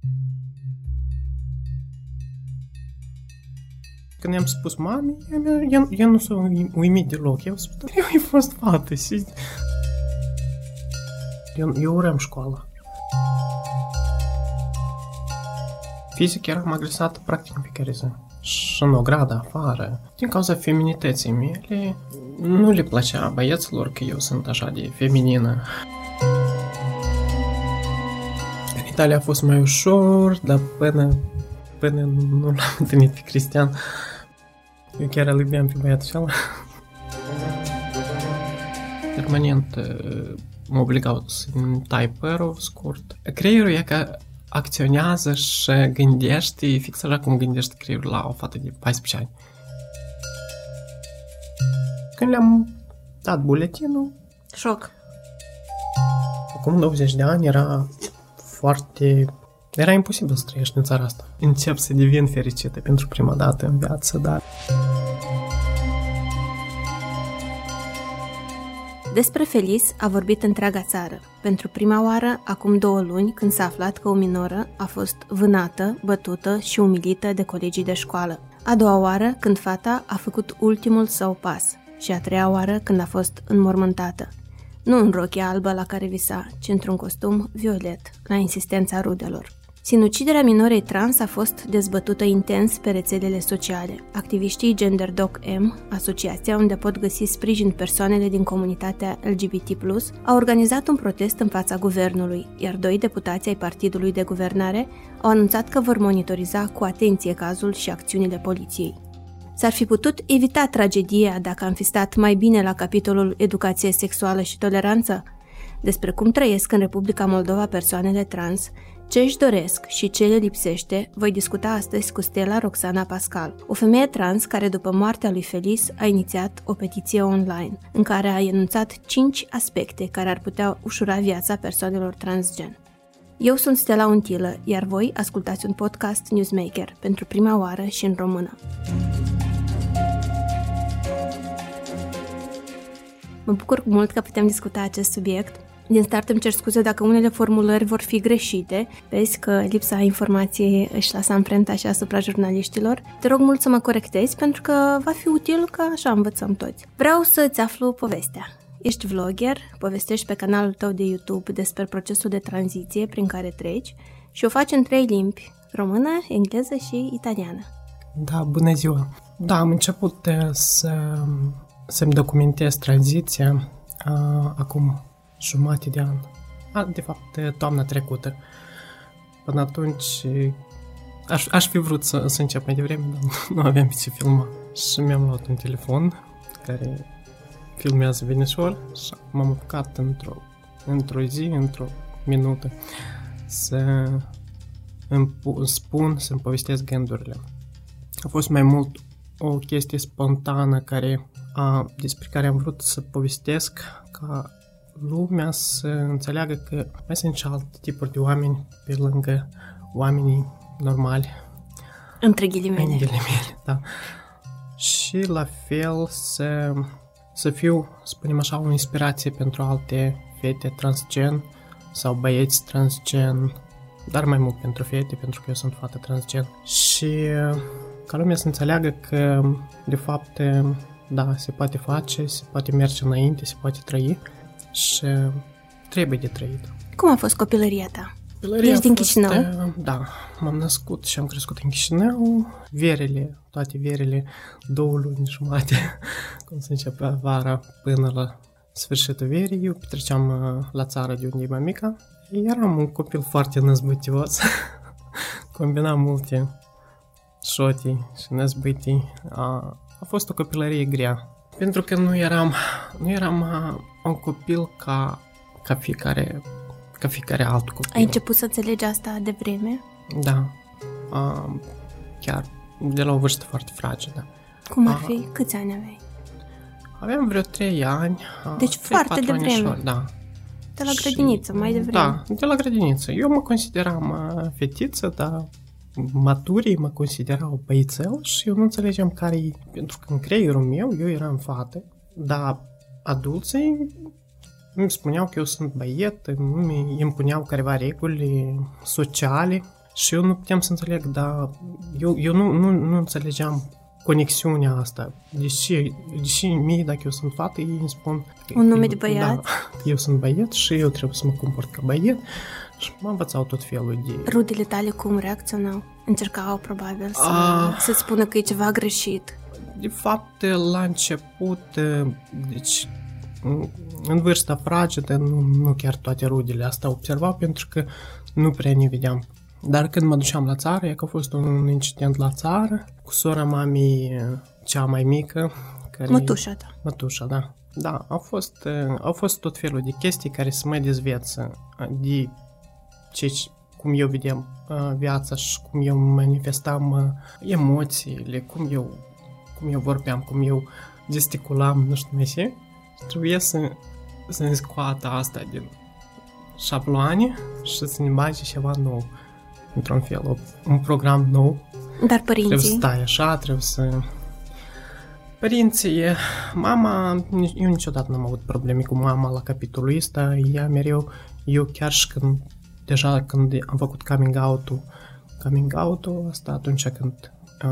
Când i-am spus mamei, ea nu s-a uimit deloc. Eu spus, eu ai fost fată. Eu urăm școala. Fizic eram agresată practic în fiecare zi. Și în ogradă afară. Din cauza feminității mele, nu le plăcea băieților că eu sunt așa de feminină. În Italia a fost mai ușor, dar până nu l-am întâlnit pe Cristian, eu chiar îl iubeam pe băiatul ăla. Permanent mă obligau să-mi tai părul scurt. Creierul e că acționează și gândește fix așa cum gândește creierul la o fată de 14 ani. Când le-am dat buletinul... Șoc. Acum 20 de ani era imposibil să trăiești în țara asta. Încep să devin fericită pentru prima dată în viață, dar... Despre Felice a vorbit întreaga țară. Pentru prima oară, acum 2 luni, când s-a aflat că o minoră a fost vânată, bătută și umilită de colegii de școală. A doua oară, când fata a făcut ultimul său pas. Și a treia oară, când a fost înmormântată. Nu în rochia albă la care visa, ci într-un costum violet, la insistența rudelor. Sinuciderea minorei trans a fost dezbătută intens pe rețelele sociale. Activiștii GenderDoc M, asociația unde pot găsi sprijin persoanele din comunitatea LGBT+, au organizat un protest în fața guvernului, iar 2 deputați ai partidului de guvernare au anunțat că vor monitoriza cu atenție cazul și acțiunile poliției. S-ar fi putut evita tragedia dacă am fi stat mai bine la capitolul educație sexuală și toleranță? Despre cum trăiesc în Republica Moldova persoanele trans, ce își doresc și ce le lipsește, voi discuta astăzi cu Stella Roxana Pascal, o femeie trans care după moartea lui Felice a inițiat o petiție online, în care a enunțat 5 aspecte care ar putea ușura viața persoanelor transgen. Eu sunt Stella Untilă, iar voi ascultați un podcast Newsmaker, pentru prima oară și în română. Mă bucur mult că putem discuta acest subiect. Din start îmi cer scuze dacă unele formulări vor fi greșite. Vezi că lipsa informației își lasă amprenta și asupra jurnaliștilor. Te rog mult să mă corectezi pentru că va fi util, că așa învățăm toți. Vreau să-ți aflu povestea. Ești vlogger, povestești pe canalul tău de YouTube despre procesul de tranziție prin care treci și o faci în 3 limbi, română, engleză și italiană. Da, bună ziua! Da, am început să-mi documentez tranziția acum jumătate de an. De fapt, toamna trecută. Până atunci aș fi vrut să încep mai devreme, dar nu aveam pe ce filma. Și mi-am luat un telefon care filmează bine și m-am apucat într-o zi, într-o minută să-mi povestesc gândurile. A fost mai mult o chestie spontană despre care am vrut să povestesc ca lumea să înțeleagă că mai sunt și alte tipuri de oameni pe lângă oamenii normali. Între ghilimele. Da. Și la fel să fiu, spunem așa, o inspirație pentru alte fete transgen sau băieți transgen, dar mai mult pentru fete, pentru că eu sunt fată transgen. Și ca lumea să înțeleagă că, de fapt, da, se poate face, se poate merge înainte, se poate trăi și trebuie de trăit. Cum a fost copilăria ta? Ești din Chișinău? Da, m-am născut și am crescut în Chișinău. Toate verele, 2 luni jumate, cum se începea vara până la sfârșitul verii. Eu petreceam la țară de unde e mamica. Eram un copil foarte năzbâtios. Combinam multe șotii și năzbâtii. A fost o copilărie grea. Pentru că nu eram un copil ca fiecare alt copil. Ai început să înțelegi asta de vreme? Da. Chiar de la o vârstă foarte fragedă. Cum ar fi? Câți ani aveai? Aveam vreo 3 ani. Deci foarte de vreme. Da. De la grădiniță, mai devreme. Da, de la grădiniță. Eu mă consideram fetiță, dar maturii mă considerau băițel și eu nu înțelegeam care-i... Pentru că în creierul meu eu eram fată, dar adulții îmi spuneau că eu sunt băiet, îmi impuneau careva reguli sociale Și eu nu puteam să înțeleg, dar eu nu înțelegeam conexiunea asta. Deși mie, dacă eu sunt fată, ei îmi spun... Un nume de băiat? Da, eu sunt băiat și eu trebuie să mă comport ca băiat și mă învățau tot felul de... Rudele tale cum reacționau? Încercau probabil să-ți spună că e ceva greșit. De fapt, la început, deci în vârsta fragedă, nu chiar toate rudele asta observau, pentru că nu prea ne vedeam. Dar când mă duceam la țară, e că a fost un incident la țară, cu sora mamei cea mai mică. Mătușa ta. Mătușa, da. Da, au fost tot felul de chestii care să mă dezveță de cum eu vedeam viața și cum eu manifestam emoțiile, cum eu vorbeam, cum eu gesticulam, nu știu ce. Trebuie să-mi scoată asta din șabloane și să ne bage ceva nou, într-un fel, un program nou. Dar părinții? Trebuie să stai așa, trebuie să... Părinții, mama, eu niciodată n-am avut probleme cu mama la capitolul ăsta, ea mereu, eu chiar și când am făcut coming out-ul asta atunci când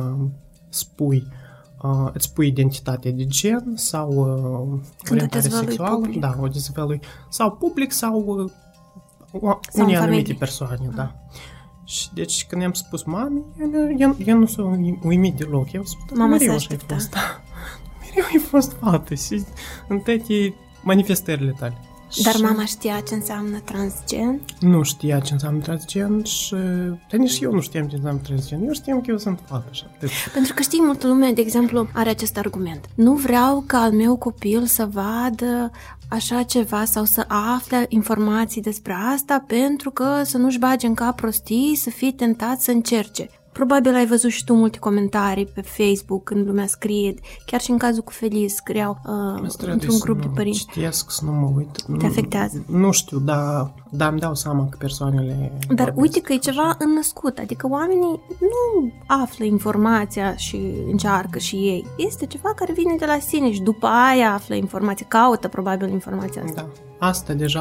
îți spui identitatea de gen sau orientare sexuală, public. Da, o dezvălui sau public sau unei anumite persoane, da. Și deci când i-am spus mamei, eu nu s-a uimit deloc. Eu spus, mama mereu așa ai fost, da. Mereu ai fost fată și în toate manifestările tale. Dar mama știa ce înseamnă transgen? Nu știa ce înseamnă transgen și... Dar nici eu nu știam ce înseamnă transgen. Eu știam că eu sunt fată și atât. Pentru că știi, multă lume, de exemplu, are acest argument. Nu vreau ca al meu copil să vadă așa ceva sau să afle informații despre asta pentru că să nu-și bage în cap prostii, să fie tentat să încerce. Probabil ai văzut și tu multe comentarii pe Facebook când lumea scrie, chiar și în cazul cu Feliz scriau într-un grup de părinți. Citesc, să nu mă uit. Te afectează? Nu știu, dar îmi dau seama că persoanele... Dar uite că e ceva înnăscut, adică oamenii nu află informația și încearcă și ei. Este ceva care vine de la sine și după aia află informație, caută probabil informația asta. Da. Asta deja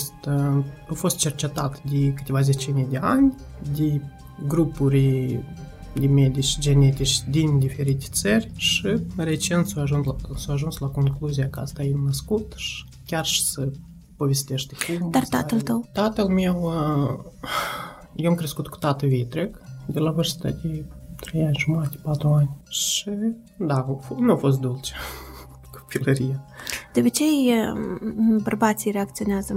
a fost cercetat de câteva zecimi de ani, de grupuri de medici genetici din diferite țări și recent s-a ajuns la concluzia că asta e născut și chiar și să povestește cum. Dar tatăl tău? Tatăl meu, eu am crescut cu tată vitreg de la vârsta de 3 ani jumate, 4 ani și da, nu a fost dulce copilăria. De obicei, bărbații reacționează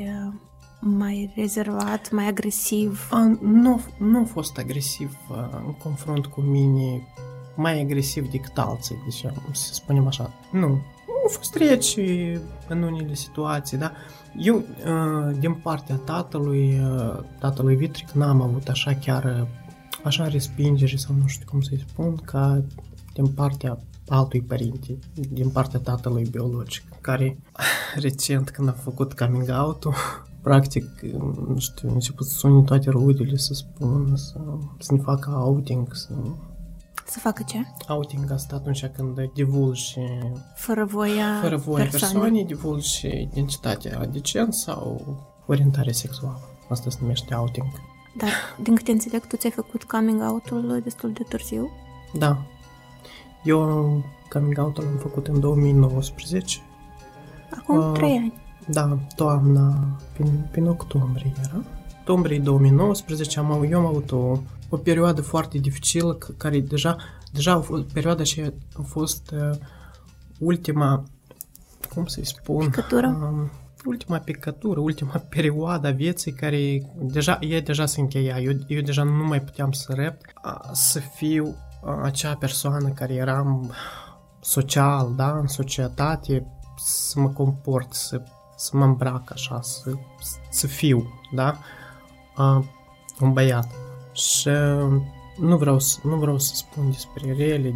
mai rezervat, mai agresiv? Nu a fost agresiv în confrunt cu mine, mai agresiv decât alții, deci să spunem așa. Nu. Au fost reci în unele situații, da. Eu, din partea tatălui vitric, n-am avut așa chiar așa respingere sau nu știu cum să-i spun, ca din partea altui părinte, din partea tatălui biologic, care recent când a făcut coming out-ul, practic, nu știu, început să suni toate rudele să spună, să ne facă outing, Să facă ce? Outing asta atunci când divulgi fără voia persoanei, divulgi identitatea de gen sau orientare sexuală. Asta se numește outing. Dar, din câte înțeleg, tu ți-ai făcut coming out-ul destul de târziu? Da. Eu coming out-ul l-am făcut în 2019. Acum 3 ani. Da, toamna, prin octombrie era. Octombrie 2019 eu am avut o perioadă foarte dificilă, care deja perioada și a fost ultima, cum să-i spun? Picătură? Ultima picătură, ultima perioadă a vieții care deja se încheia. Eu deja nu mai puteam să rept, să fiu acea persoană care eram social, da, în societate, să mă comport, să mă îmbrac așa, să fiu, da, un băiat. Și nu vreau să spun despre rele,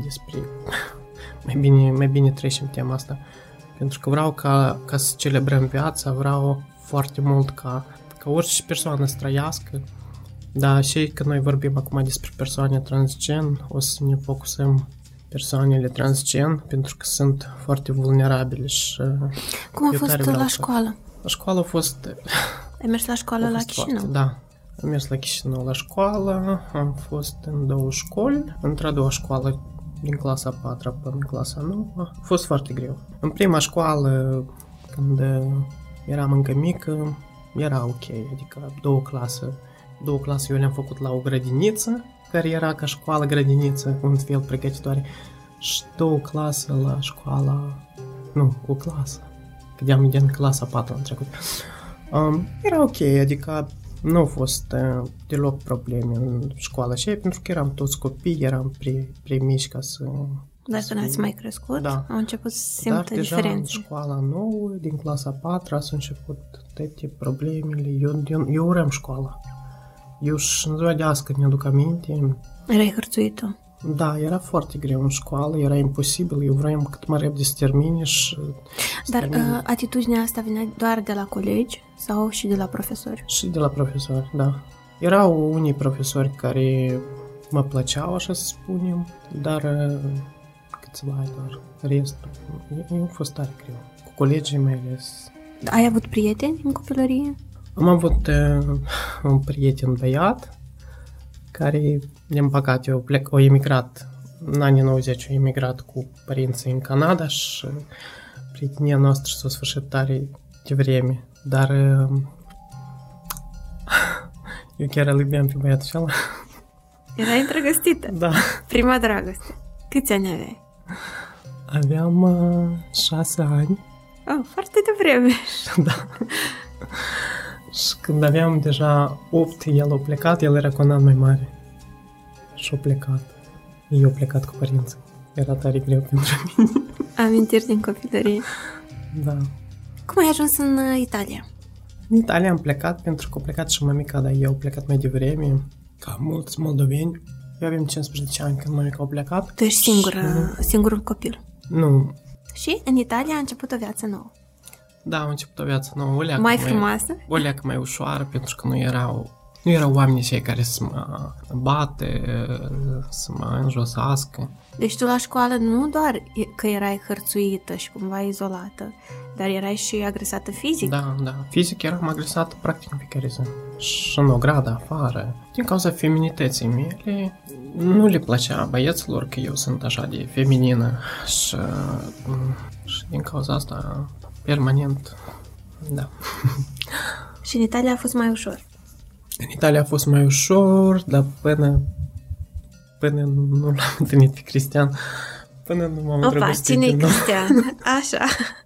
mai bine trecem tema asta, pentru că vreau ca să celebrăm viața, vreau foarte mult ca orice persoană să trăiască, dar și când noi vorbim acum despre persoane transgen, o să ne focusăm persoanele transgen, pentru că sunt foarte vulnerabile și... Cum a fost la școală? La școală a fost... Ai mers la școală la Chișinău? Da. Am mers la Chișinău la școală, am fost în 2 școli, într-a doua școală din clasa 4 până în clasa 9, a fost foarte greu. În prima școală, când eram încă mică, era ok, adică două clase eu le-am făcut la o grădiniță, care era ca școală-grădiniță, un fel pregătitoare, și 2 clase la școala, o clasă, că din clasa 4 am trecut. Era ok, adică nu au fost deloc probleme în școală și pentru că eram toți copii, eram prea mici ca să... Dar când ați mai crescut, au început să simtă diferențe. Dar deja în școala nouă, din clasa 4, s-au început toate problemele. Eu urăm școala. Eu și în ziua de azi, când mi-aduc aminte... Erai hărțuit-o? Da, era foarte greu în școală, era imposibil. Eu vreau cât mai repede să termine și... Dar atitudinea asta venea doar de la colegi sau și de la profesori? Și de la profesori, da. Erau unii profesori care mă plăceau, așa să spunem, dar câțiva doar. Restul, a fost tare greu. Cu colegii mai ales. Ai avut prieteni în copilărie? Am avut un prieten băiat care, din păcate, a emigrat în anii 90, a emigrat cu părinții în Canada și prietenia noastră s-a sfârșit tare devreme. Dar eu chiar îl iubeam pe băiatul acela. Erai îndrăgostită? Da. Prima dragoste. Câți ani aveai? Aveam 6 ani. Oh, foarte devreme. Da. Și când aveam deja 8, el a plecat, el era cu un an mai mare. Și a plecat. Eu a plecat cu părinții. Era tare greu pentru mine. Amintiri din copilărie. Da. Cum ai ajuns în Italia? În Italia am plecat pentru că a plecat și mămica, dar eu a plecat mai devreme, ca mulți moldoveni. Eu aveam 15 ani când mămica a plecat. Tu ești singurul copil? Nu. Și în Italia a început o viață nouă? Da, a început o viață nouă. Mai frumoasă? O leacă mai ușoară, pentru că nu erau oamenii cei care să mă bate, să mă înjosească. Deci tu la școală nu doar că erai hărțuită și cumva izolată, dar erai și agresată fizic? Da. Fizic eram agresată practic în fiecare zi. Și în ogradă, afară. Din cauza feminității mele, nu le plăcea băieților că eu sunt așa de feminină. Și din cauza asta, permanent, da. Și în Italia a fost mai ușor? În Italia a fost mai ușor, dar până nu l-am întâlnit pe Cristian, până nu m-am îndrăgostit din nou. Cine-i Cristian? Așa.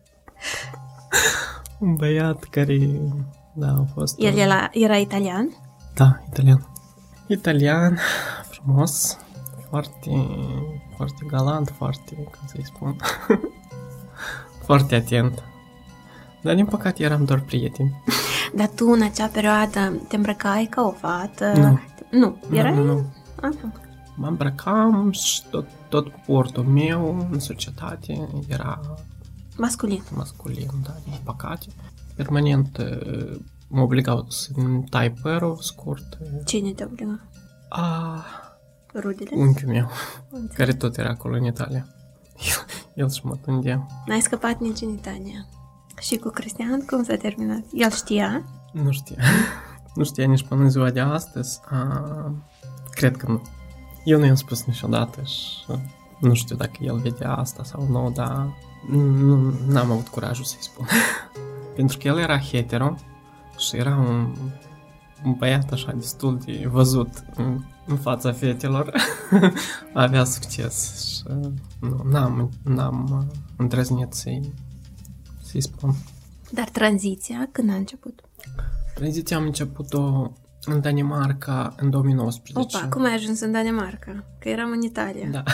Un băiat care, a fost... El era italian? Da, italian. Italian, frumos, foarte, foarte galant, foarte, cum să-i spun, foarte atent. Dar, din păcate, eram doar prieteni. Dar tu, în acea perioadă, te îmbrăcai ca o fată? Nu. Erai? Nu. Mă îmbrăcam și tot portul meu în societate era... Masculin, da, din păcate. Permanent mă obligau să-mi tai părul scurt. Cine te obliga? Rudele? Unchiul meu, care tot era acolo în Italia. El și mă tundea. N-ai scăpat nici în Italia. Și cu Cristian, cum s-a terminat? El știa? Nu știa. Nu știa nici până în ziua de astăzi. Cred că nu. Eu nu i-am spus niciodată și nu știu dacă el vedea asta sau nu, dar n-am avut curajul să-i spun. Pentru că el era hetero și era un băiat așa destul de văzut în fața fetelor. Avea succes și n-am îndrăznit să-i spun. Dar tranziția când a început? Tranziția am început-o în Danemarca în 2019. Opa, cum ai ajuns în Danemarca? Că eram în Italia. Da.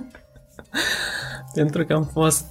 Pentru că am fost...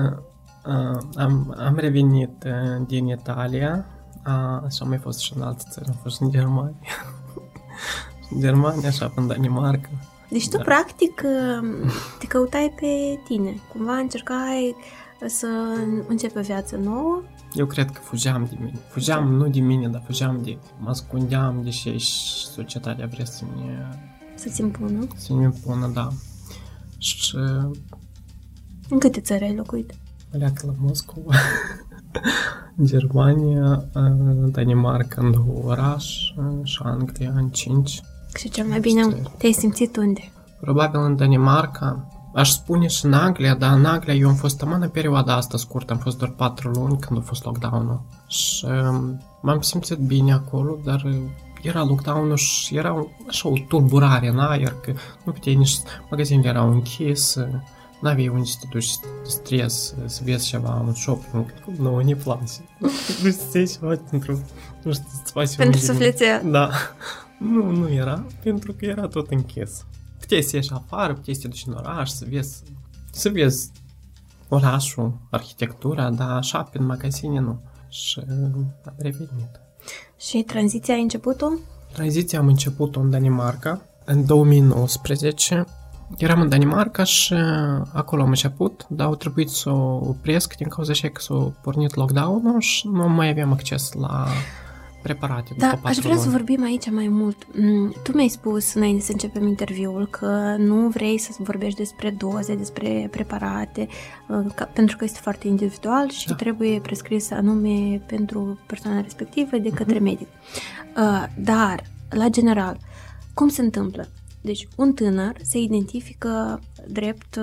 am revenit din Italia și am mai fost și în alte țări. Am fost în Germania. În Germania, așa, în Danemarca. Deci tu, practic, te căutai pe tine. Cumva încercai să începi o viață nouă. Eu cred că fugeam de mine. Fugeam nu de mine, dar fugeam mă ascundeam de ce și societatea vrea să-ți impună. Să-mi impună, da. Și... În câte țări ai locuit? Pleacă la Moscova. Germania, Danemarca în 2 oraș și Anglia în 5. Și cel mai bine te-ai simțit unde? Probabil în Danemarca. Aș spune și în Anglia, dar în Anglia eu am fost amână în perioada asta scurtă, am fost doar 4 luni când a fost lockdown-ul. Și m-am simțit bine acolo, dar era lockdown-ul și era așa o tulburare în aer, că nu puteai nici, magazinele erau închise, n-aveai unde să te duci să te stresi, să vezi ceva în shopping. Nu, ne place. Nu știi ceva pentru, nu știu, să faci pentru sufletea. Da. Nu era, pentru că era tot închis. Puteai să ieși afară, puteai să te duci în oraș, să vezi orașul, arhitectura, dar așa, prin magazine nu. Și am revenit. Și tranziția ai început-o? Tranziția am început-o în Danemarca, în 2019. Eram în Danemarca și acolo am început, dar au trebuit să o opresc din cauza așa că s-a pornit lockdown-ul și nu mai aveam acces la preparate după 4 aș vrea luni. să vorbim aici mai mult. Tu mi-ai spus înainte să începem interviul că nu vrei să vorbești despre doze, despre preparate, pentru că este foarte individual și trebuie prescris anume pentru persoana respectivă de către medic. Dar, la general, cum se întâmplă? Deci, un tânăr se identifică drept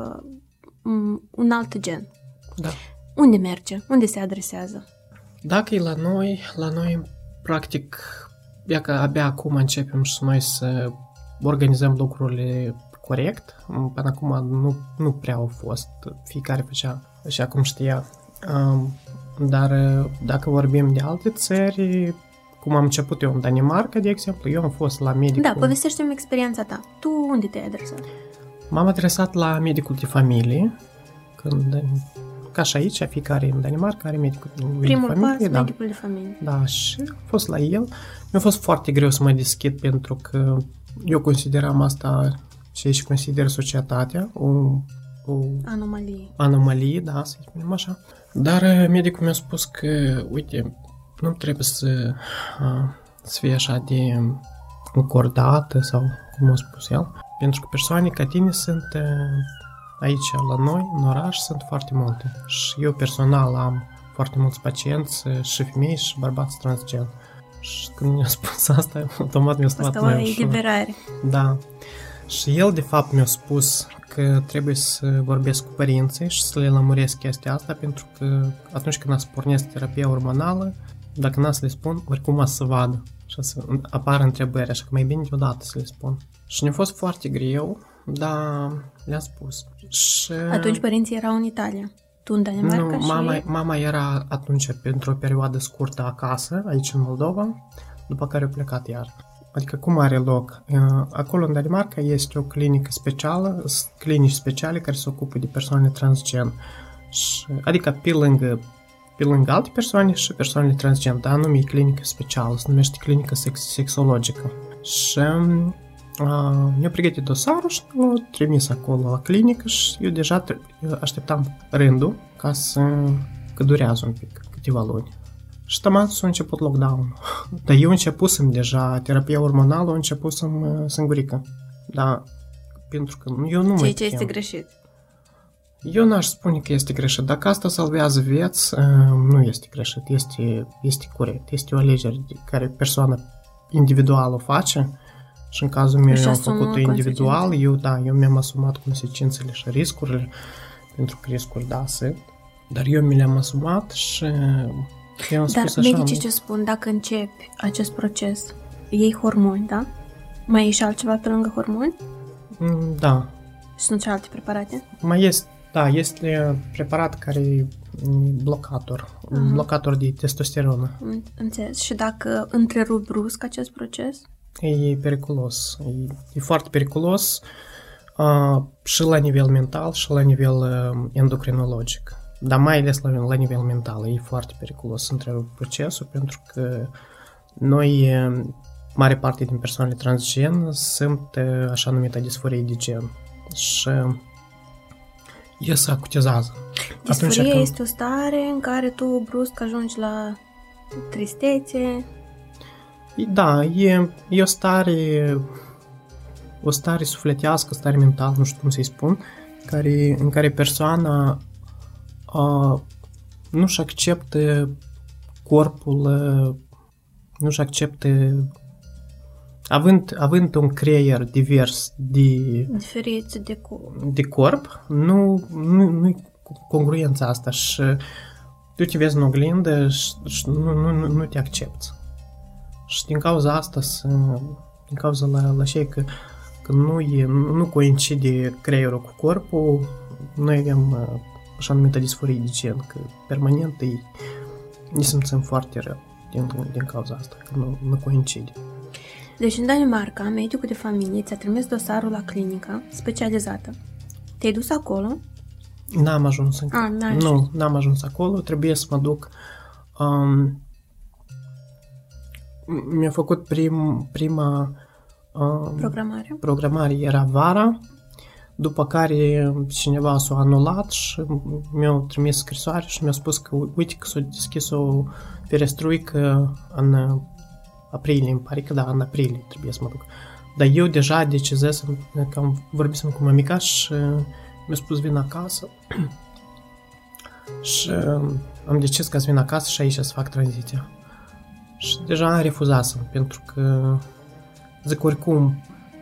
un alt gen. Da. Unde merge? Unde se adresează? Dacă e la noi, practic, e că abia acum începem și noi să organizăm lucrurile corect. Până acum nu prea au fost. Fiecare făcea așa cum știa. Dar dacă vorbim de alte țări, cum am început eu în Danemarca, de exemplu, eu am fost la medicul... Da, povestește-mi experiența ta. Tu unde te-ai adresat? M-am adresat la medicul de familie, ca și aici, fiecare în Danemarca are medicul de familie. Primul pas, medicul de familie. Da, și am fost la el. Mi-a fost foarte greu să mă deschid pentru că eu consideram asta și consider societatea o anomalie, da, să spunem așa. Dar medicul mi-a spus că, uite, nu trebuie să fie așa de încordată sau cum a spus el, pentru că persoane ca tine sunt aici la noi, în oraș, sunt foarte multe. Și eu personal am foarte mulți pacienți, și femei și bărbați transgen. Și când mi-a spus asta, automat mi-a spus mai ușor. Eliberare. Da. Și el, de fapt, mi-a spus că trebuie să vorbesc cu părinții și să le lămuresc chestia asta, pentru că atunci când se pornesc terapia hormonală, dacă n-a să le spun, oricum o să vadă. Și să apară întrebări, așa că mai bine deodată să le spun. Și ne-a fost foarte greu, dar le-am spus. Și... Atunci părinții erau în Italia, tu în Danemarca și... Mama era atunci pentru o perioadă scurtă acasă, aici în Moldova, după care a plecat iar. Adică cum are loc? Acolo în Danemarca este o clinică specială, clinici speciale care se ocupă de persoane transgen. Adică pe lângă alte persoane și persoanele transgen, dar anume e clinică specială, se numește clinică sexologică. Și mi-a pregătit dosarul și l-a trimis acolo la clinică și eu deja așteptam rândul că durează un pic, câteva luni. Și tocmai s-a început lockdown. Dar eu începusem deja, terapia hormonală a începusem singurică. Da, pentru că eu nu ce este greșit? Eu n-aș spune că este greșit. Dacă asta salvează vieți, nu este greșit, este corect. Este o alegere care persoana individuală o face și în cazul meu eu am făcut-o individual. Eu mi-am asumat consecințele și riscurile, pentru că riscuri da sunt, dar eu mi le-am asumat și eu am spus așa. Dar medicii ce spun dacă începi acest proces? Iei hormoni, da? Mai iei și altceva pe lângă hormoni? Da. Și sunt și alte preparate? Mai este. Da, este preparat care e blocator de testosteronă. Înțeles. Și dacă întrerup brusc acest proces? E periculos. E foarte periculos și la nivel mental și la nivel endocrinologic. Dar mai ales la nivel mental e foarte periculos să întrerup procesul, pentru că noi, mare parte din persoanele transgen, sunt așa numită disforie de gen. Și el se acutizează. Disforie este o stare în care tu brusc ajungi la tristețe. Da, e o stare sufletească, o stare mentală, nu știu cum să-i spun, în care persoana nu-și acceptă corpul nu-și acceptă, având un creier divers diferit de corp, nu congruența asta și tu te vezi în oglindă și nu te accepti. Și din cauza asta, din cauza la cei că nu coincide creierul cu corpul, noi avem așa numită disforie de gen, că permanent ne simțim foarte rău din cauza asta, că nu coincide. Deci în Danemarca, medicul de familie ți-a trimis dosarul la clinică specializată. Te-ai dus acolo? N-am ajuns încă. N-am ajuns acolo, trebuie să mă duc. Mi-a făcut prima programare, era vara, după care cineva s-a anulat și mi-a trimis scrisoare și mi-a spus că uite că s-a deschis o ferestruică în aprilie, îmi pare că da, în aprilie trebuie să mă duc. Dar eu deja decizesem, că vorbisem cu mămica și mi-a spus vin acasă și am decis că să vin acasă și aici să fac tranziția. Și deja refuzasem, pentru că zic oricum,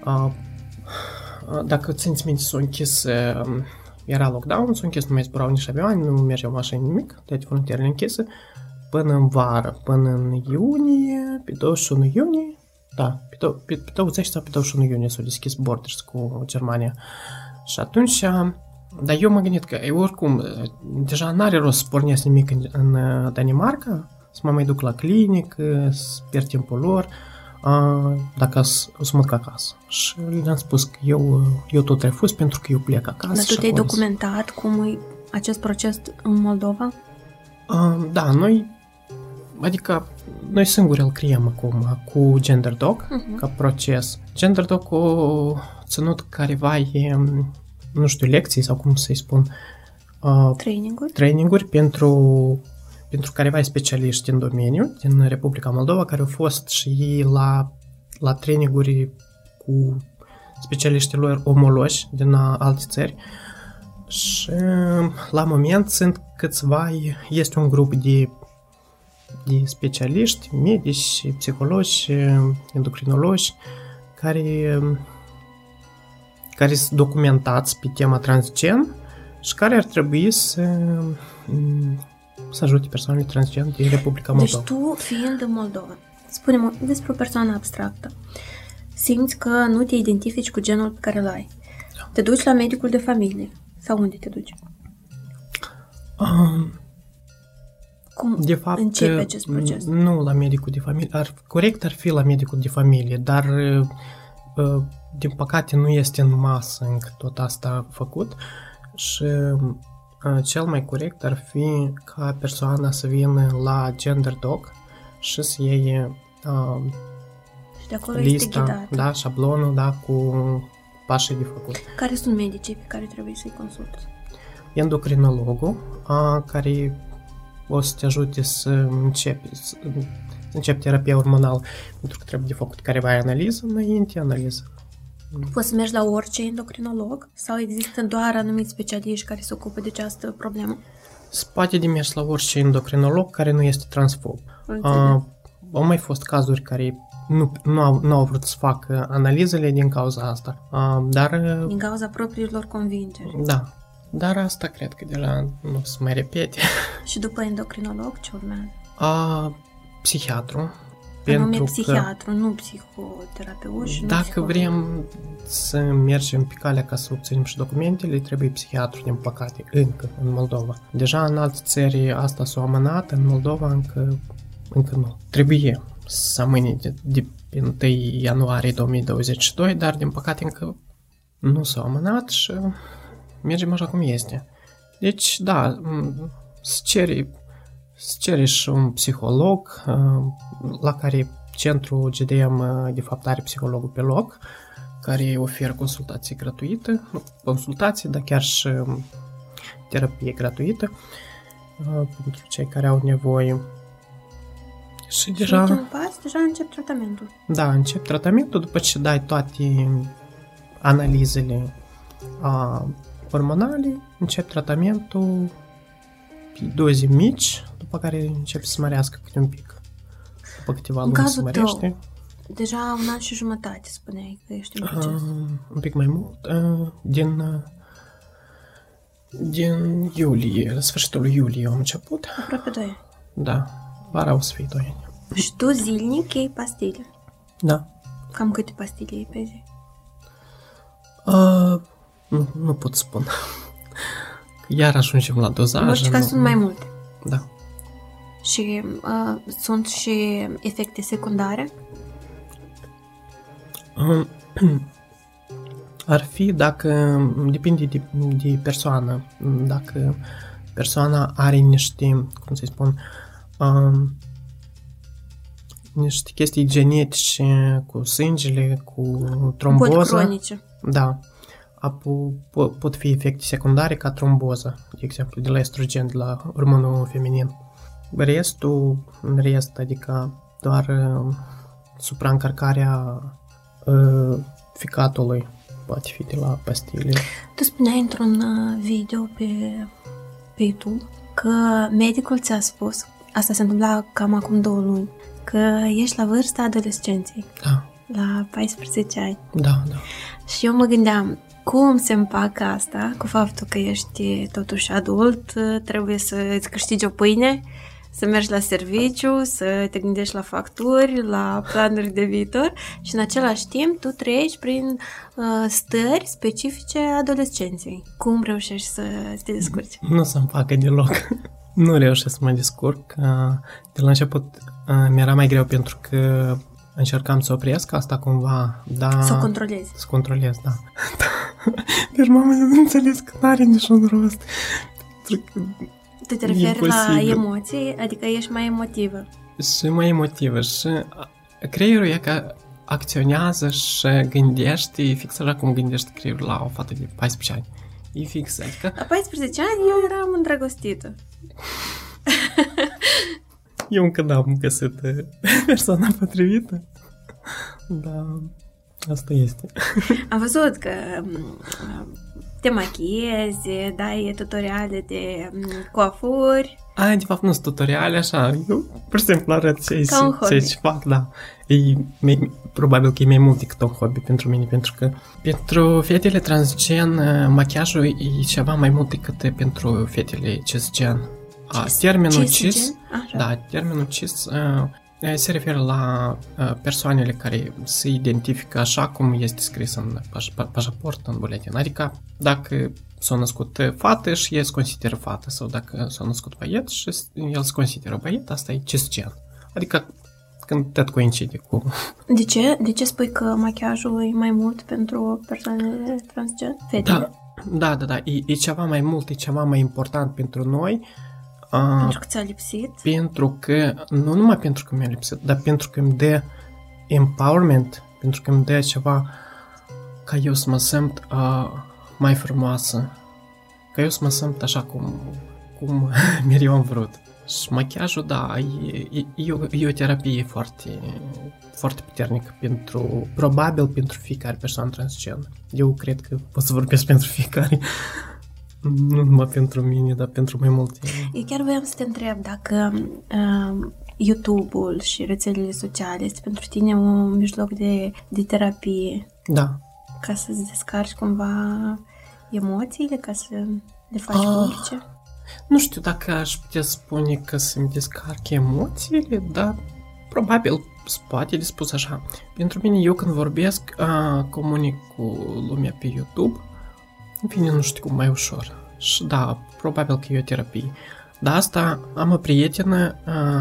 dacă țineți minte, s-a închis, era lockdown, s-a închis, nu mai zburau nici avioane, nu mergeau mașini, nimic, toate frontierele închise, până în vară, până în iunie, pe 21 iunie, da, pe 20 sau pe 21 iunie s-au deschis borders cu Germania. Și atunci, dar eu m-am gândit că oricum, deja n-are rost să pornesc nimic în Danemarca, să mă mai duc la clinică, să pierd timpul lor, dacă o să mă duc acasă. Și le-am spus că eu tot refuz pentru că eu plec acasă. Dar tu te-ai documentat cum e acest proces în Moldova? Da, noi singuri îl creăm acum cu GenderDoc ca proces. GenderDoc a ținut careva, nu știu, lecții sau cum să-i spun, traininguri pentru careva specialiști în domeniu din Republica Moldova, care au fost și ei la traininguri cu specialiștii lor omologi din alte țări. Și la moment sunt câțiva, este un grup de specialiști, medici, psihologi, endocrinologi, care sunt documentați pe tema transgen și care ar trebui să ajute persoanele transgen din Republica Moldova. Deci tu, fiind în Moldova, spune-mă despre o persoană abstractă, simți că nu te identifici cu genul pe care îl ai. Da. Te duci la medicul de familie sau unde te duci? Cum de fapt, începe acest proces? Nu la medicul de familie. Corect ar fi la medicul de familie, dar din păcate nu este în masă încă tot asta făcut și cel mai corect ar fi ca persoana să vină la GenderDoc și să iei și de acolo lista, este ghidat. Da, șablonul, da, cu pașii de făcut. Care sunt medicii pe care trebuie să-i consulți? Endocrinologul, care o să te ajute să începi terapia hormonală, pentru că trebuie de făcut careva analiză înainte, Poți să mergi la orice endocrinolog sau există doar anumiți specialiști care se ocupă de această problemă? Se poate de mers la orice endocrinolog care nu este transfob. Au mai fost cazuri care nu au vrut să facă analizele din cauza asta, dar... Din cauza propriilor convingeri. Da, dar asta cred că deja nu se mai repete. Și după endocrinolog ce urmează? Psihiatru. Anume psihiatru, nu psihoterapeut și dacă vrem să mergem pe calea ca să obținem și documentele, trebuie psihiatru, din păcate, încă în Moldova. Deja în alte țări asta s-a amânat, în Moldova încă nu. Trebuie să amâne de 1 ianuarie 2022, dar din păcate încă nu s-a amânat și mergem așa cum este. Deci, da, să cere și un psiholog, la care centrul GDM de fapt are psihologul pe loc, care oferă consultații gratuite, dar chiar și terapie gratuită pentru cei care au nevoie. Și deja... ultimul pas, deja încep tratamentul. Da, încep tratamentul după ce dai toate analizele hormonale, încep tratamentul doze mici, după care începe să mărească câte un pic. După câteva luni se mărește. Deja 1 an și jumătate spuneai că ești în proces. Un pic mai mult. Din iulie, la sfârșitul lui iulie am început. Aproape 2 ani. Da, vara o să fie 2 ani. Și tu zilnic iei pastile? Da. Cam câte pastile iei pe zi? Nu pot spune. Iar ajungem la dozaj. În orice caz sunt mai multe. Da. Și sunt și efecte secundare? Ar fi dacă, depinde de persoană, dacă persoana are niște, cum să spun, niște chestii genetice cu sângele, cu tromboză. Boli cronice. Da. Pot fi efecte secundare ca tromboză, de exemplu, de la estrogen, de la hormonul feminin. În rest, adică doar supraîncărcarea ficatului poate fi de la pastile. Tu spuneai într-un video pe YouTube că medicul ți-a spus, asta se întâmpla cam acum 2 luni, că ești la vârsta adolescenței. Da. La 14 ani. Da. Și eu mă gândeam, cum se împacă asta cu faptul că ești totuși adult, trebuie să îți câștigi o pâine, să mergi la serviciu, să te gândești la facturi, la planuri de viitor și în același timp tu treci prin stări specifice adolescenței. Cum reușești să te descurci? Nu se împacă deloc. Nu reușesc să mă descurc. De la început mi-era mai greu pentru că încercam să opresc asta cumva, da. Să o controlezi. Să controlez, da. Deci mama nu înțeles că n-are niciun rost. Tu te referi la emoții, adică ești mai emotivă. Și mai emotivă și creierul e că acționează și gândește fix așa cum gândește creierul la o fată de 14 ani. E fix, adică... La 14 ani eu eram îndrăgostită. Eu încă n-am găsit persoana potrivită. Da, asta este. Am văzut că te machiezi, dai tutoriale de coafuri. De fapt nu sunt tutoriale, așa, eu pur și simplu arăt ce fac, da. Probabil că e mai mult decât un hobby pentru mine, pentru că pentru fetele transgen machiajul e ceva mai mult decât pentru fetele cisgen. Termenul cis, da, termenul cis se referă la persoanele care se identifică așa cum este scris în pașaport, în buletin. Adică dacă s-a născut fată și el se consideră fată, sau dacă s-a născut băiet și el se consideră băiet, asta e cisgen. Adică când tot coincide cu... De ce spui că machiajul e mai mult pentru persoanele transgen? Fetele? Da. E ceva mai mult, e ceva mai important pentru noi. Pentru că ți-a lipsit? Pentru că, nu numai pentru că mi-a lipsit, dar pentru că îmi dă empowerment, pentru că îmi dă ceva ca eu să mă simt mai frumoasă, ca eu să mă simt așa cum mereu am vrut. Și machiajul, da, e o terapie foarte, foarte puternică probabil pentru fiecare persoană transgen. Eu cred că pot să vorbesc pentru fiecare. Nu numai pentru mine, dar pentru mai multe. Eu chiar voiam să te întreb dacă YouTube-ul și rețelele sociale este pentru tine un mijloc de terapie. Da. Ca să-ți descarci cumva emoțiile, ca să le faci publice? Nu știu dacă aș putea spune că să-mi descarc emoțiile, dar probabil poate de spus așa. Pentru mine, eu când vorbesc, comunic cu lumea pe YouTube, în fine, nu știu cum, mai ușor. Și da, probabil că e o terapie. Dar asta am o prietenă,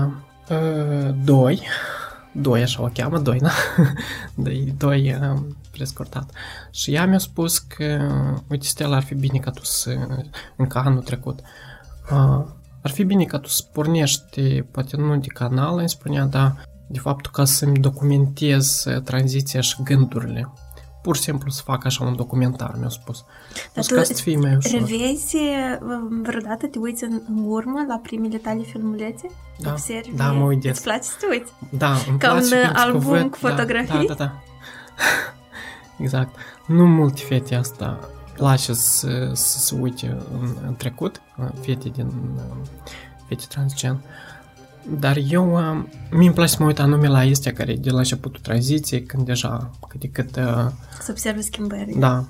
doi, așa o cheamă, doi, da? Doi prescurtat. Și ea mi-a spus că, uite, Stella, ar fi bine ca tu să, încă anul trecut, ar fi bine ca tu să pornești, poate nu de canal, îmi spunea, dar de fapt ca să-mi documentez tranziția și gândurile. Pur și simplu să fac așa un documentar, mi-a spus. Dar tu revezi vreodată, te uiți în urmă la primele tale filmulețe? Da, observi, da, mă uit des. Îți place să te uiți? Da, îmi ca place un album cu fotografii? Da. Exact. Nu multe fete asta place să uite în trecut, fete transgen. Dar mie îmi place să mă uit anume la astea care de la începutul tranziției, când deja cât de cât... Să observă schimbări. Da.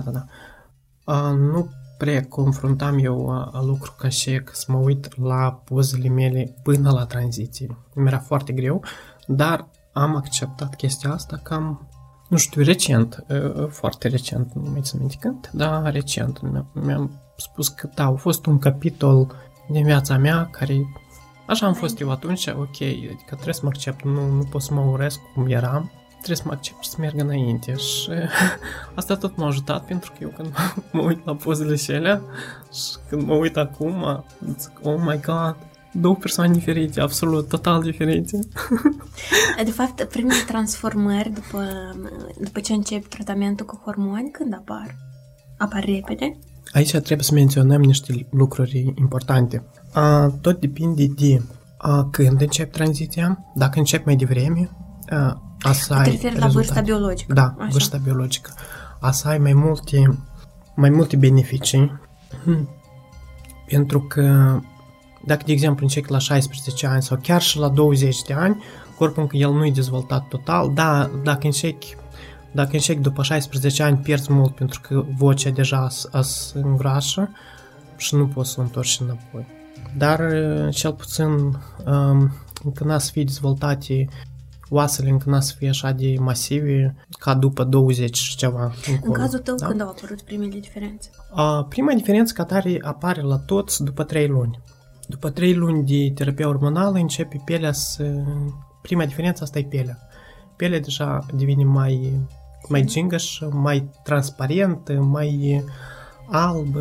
Nu prea confruntam eu lucru ca și să mă uit la pozele mele până la tranziție. Mi-era foarte greu, dar am acceptat chestia asta cam, nu știu, recent, foarte recent, nu mai țin minte când, dar recent. Mi-am spus că da, a fost un capitol din viața mea care... Așa am fost eu atunci, ok, adică trebuie să mă accept, nu pot să mă urăsc cum eram, trebuie să mă accept și să merg înainte și asta tot m-a ajutat pentru că eu când mă uit la pozele și alea și când mă uit acum, zic, oh my god, două persoane diferite, absolut, total diferite. De fapt, primele transformări după ce începi tratamentul cu hormoni, când apar? Apar repede? Aici trebuie să menționăm niște lucruri importante. Tot depinde de când începi tranziția. Dacă începi mai devreme, să ai rezultate. La vârsta biologică. Da, așa. Vârsta biologică. Să ai mai multe beneficii. Pentru că dacă, de exemplu, începi la 16 ani sau chiar și la 20 de ani, corpul încă el nu e dezvoltat total, dar dacă începi după 16 ani, pierzi mult pentru că vocea deja se îngroașă și nu poți să o întorci înapoi. Dar cel puțin încă n-a să fie dezvoltate oasele, încă n-a să fie așa de masive ca după 20 și ceva. În cazul tău, da? Când au apărut primele diferențe? Prima diferență ca tare apare la toți după 3 luni. După 3 luni de terapie hormonală începe pielea să... Prima diferență asta e pielea. Pielea deja devine mai gingăș, mai transparent, mai alb,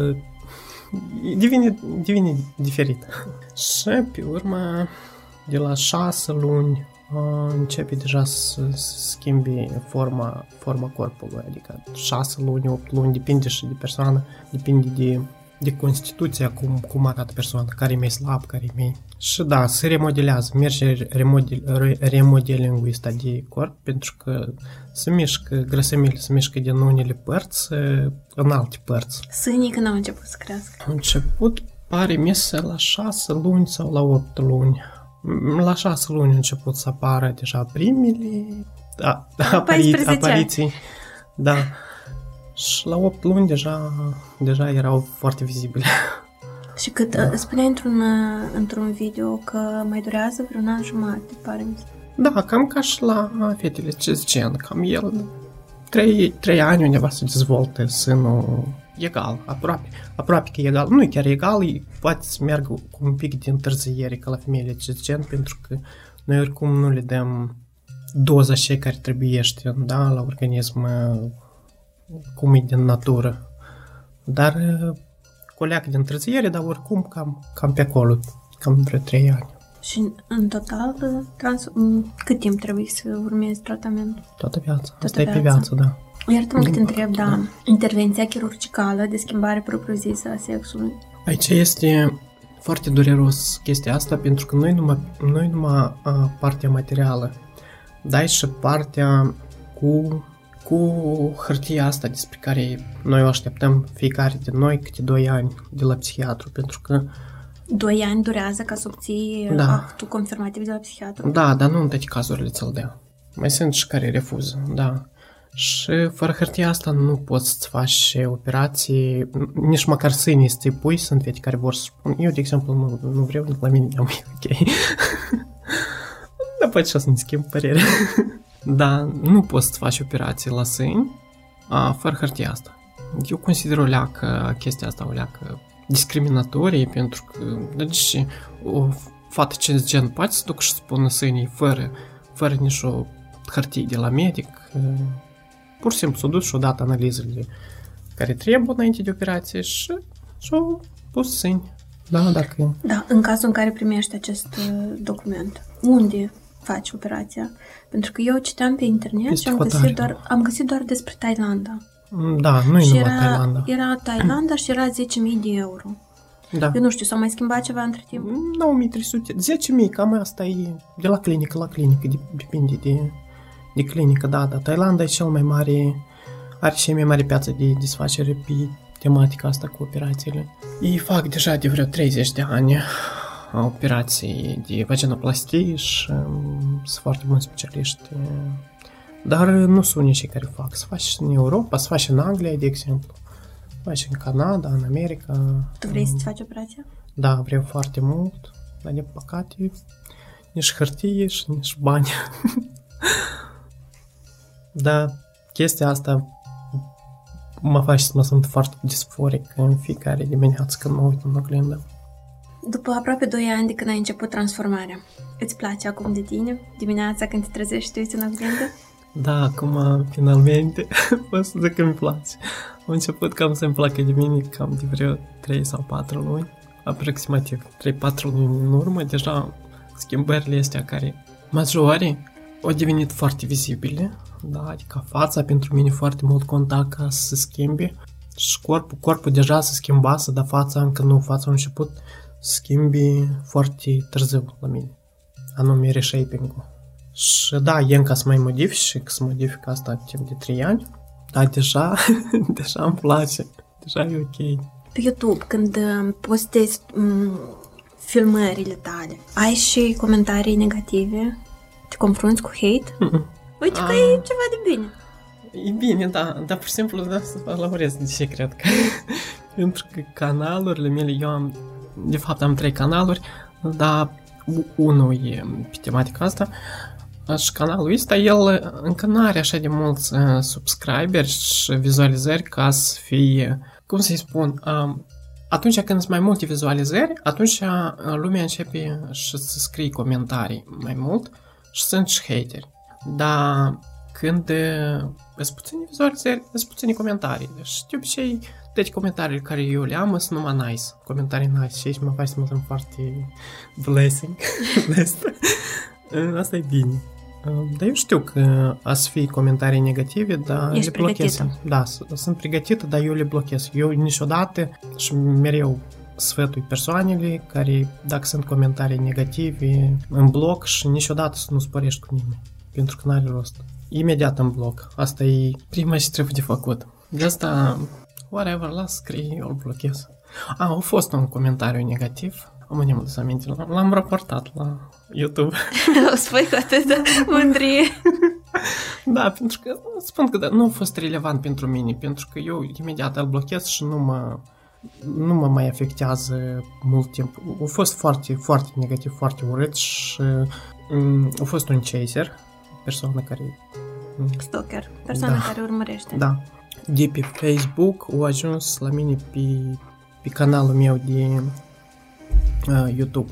devine diferit. Și pe urmă, de la 6 luni, începe deja să schimbi forma corpului, adică 6 luni, 8 luni, depinde și de persoană, depinde de constituția, cum arată persoana, care e mai slab, care e mai... Și da, se remodelează, merge remodelingul ăsta de corp, pentru că se mișcă, grăsămile se mișcă din unele părți în alte părți. Sânii când au început să crească? Au început, pare mie, la 6 luni sau la 8 luni. La 6 luni a început să apară deja primele apariții. Da. Și la 8 luni deja erau foarte vizibile. Și cât spuneai într-un video că mai durează vreun an jumate, pare mi. Da, cam ca și la fetele cisgen, cam el 3 ani undeva se dezvoltă sânul egal, aproape că egal, nu e chiar egal, poate să meargă cu un pic de întârziere ca la femeile cisgen, pentru că noi oricum nu le dăm doza și care trebuiește, da, la organism cum e din natură. Dar coleacă de întârziere, dar oricum cam pe acolo, cam vreo 3 ani. Și în total, cât timp trebuie să urmezi tratamentul? Toată viața. Asta e pe viață, da. Iartă-mă că te întreb, da, intervenția chirurgicală de schimbare propriu-zisă a sexului. Aici este foarte dureros chestia asta, pentru că noi numai partea materială, dar și partea cu hârtia asta despre care noi o așteptăm fiecare de noi câte 2 ani de la psihiatru, pentru că 2 ani durează ca să obții actul confirmativ de la psihiatru? Da, dar nu în toate cazurile ți-l dea. Mai sunt și care refuză, da. Și fără hârtia asta nu poți să-ți faci operații, nici măcar sânii să-ți pui, sunt fete care vor să spun, eu, de exemplu, nu vreau, la mine e ok. Dar poate și o să ne schimb părere. Dar nu poți să faci operații la sâni fără hârtia asta. Eu consider chestia asta o leacă discriminatorie, pentru că deci o fată cisgen poate să ducă și să pună sânii fără nicio hârtie de la medic. Pur și simplu s-o dus și-o dat analizele care trebuie înainte de operație și și-o pus sâni. Da, dacă... Da, în cazul în care primești acest document, unde faci operația? Pentru că eu citeam pe internet și am găsit doar despre Thailanda. Da, nu e numai Thailanda. Era Thailanda și era 10.000 de euro. Da. Eu nu știu, s-a mai schimbat ceva între timp? 9.300, 10.000, cam asta e de la clinică la clinică, depinde de clinică, da. Thailanda e cel mai mare are și mai mare piață de desfacere pe tematica asta cu operațiile. Ei fac deja de vreo 30 de ani operații de vaginoplastie și sunt foarte buni specialiști. Dar nu sunt unii cei care fac. Se face și în Europa, se face în Anglia, de exemplu. Se face în Canada, în America. Tu vrei să-ți faci operația? Da, vreau foarte mult, dar de păcate nici hârtie și nici bani. Dar chestia asta mă face să mă simt foarte disforic în fiecare dimineață când mă uit în oglindă. După aproape 2 ani de când ai început transformarea, îți place acum de tine? Dimineața când te trezești și te uiți în oglindă? Da, acum finalmente pot să zic că îmi place. Am început cam să-mi placă de mine cam de vreo 3 sau 4 luni, aproximativ 3-4 luni în urmă, deja schimbările astea care majore au devenit foarte vizibile, da, adică fața pentru mine foarte mult conta ca să se schimbe și corpul deja se schimbase, dar fața încă nu, fața a început să schimbi foarte târziu la mine, anume reshaping-ul. Și da, e încă să mai modific și că să modific asta timp de 3 ani, dar deja îmi place, deja e ok. Pe YouTube, când postezi filmările tale, ai și comentarii negative? Te confrunți cu hate? Uite că e ceva de bine. E bine, da, dar pur și simplu da, să vă elaborez de ce cred că. Pentru că canalurile mele, de fapt am 3 canaluri, dar unul e pe tematica asta și canalul ăsta, el încă nu are așa de mulți subscriberi și vizualizări ca să fie, cum să-i spun, atunci când sunt mai multe vizualizări, atunci lumea începe și să scrie comentarii mai mult și sunt și hateri. Dar când sunt puține vizualizări, sunt puține comentarii. Și de obicei, toate comentariile care eu le am sunt numai nice. Comentarii nice și aici mă faci să mă simt foarte blessing. Asta e bine. Dar eu știu că a să fie comentarii negative, dar ești le blochez. pregătită. Da, sunt pregătită, dar eu le blochez. Eu niciodată și mereu sfătui persoanele care, dacă sunt comentarii negative, în bloc și niciodată să nu sporești cu nimeni. Pentru că n-are rost. Imediat în bloc. Asta e prima ce trebuie de făcut. De asta, whatever, las scrie, eu îl blochez. A fost un comentariu negativ. Am adus aminte. L-am raportat la YouTube. O spui cu atâta mândrie. Da, pentru că spun că nu a fost relevant pentru mine, pentru că eu imediat îl blochez și nu mă mai afectează mult timp. A fost foarte, foarte negativ, foarte urât și a fost un chaser, persoană care... Stalker, persoana care urmărește. Da. De pe Facebook a ajuns la mine pe canalul meu de YouTube.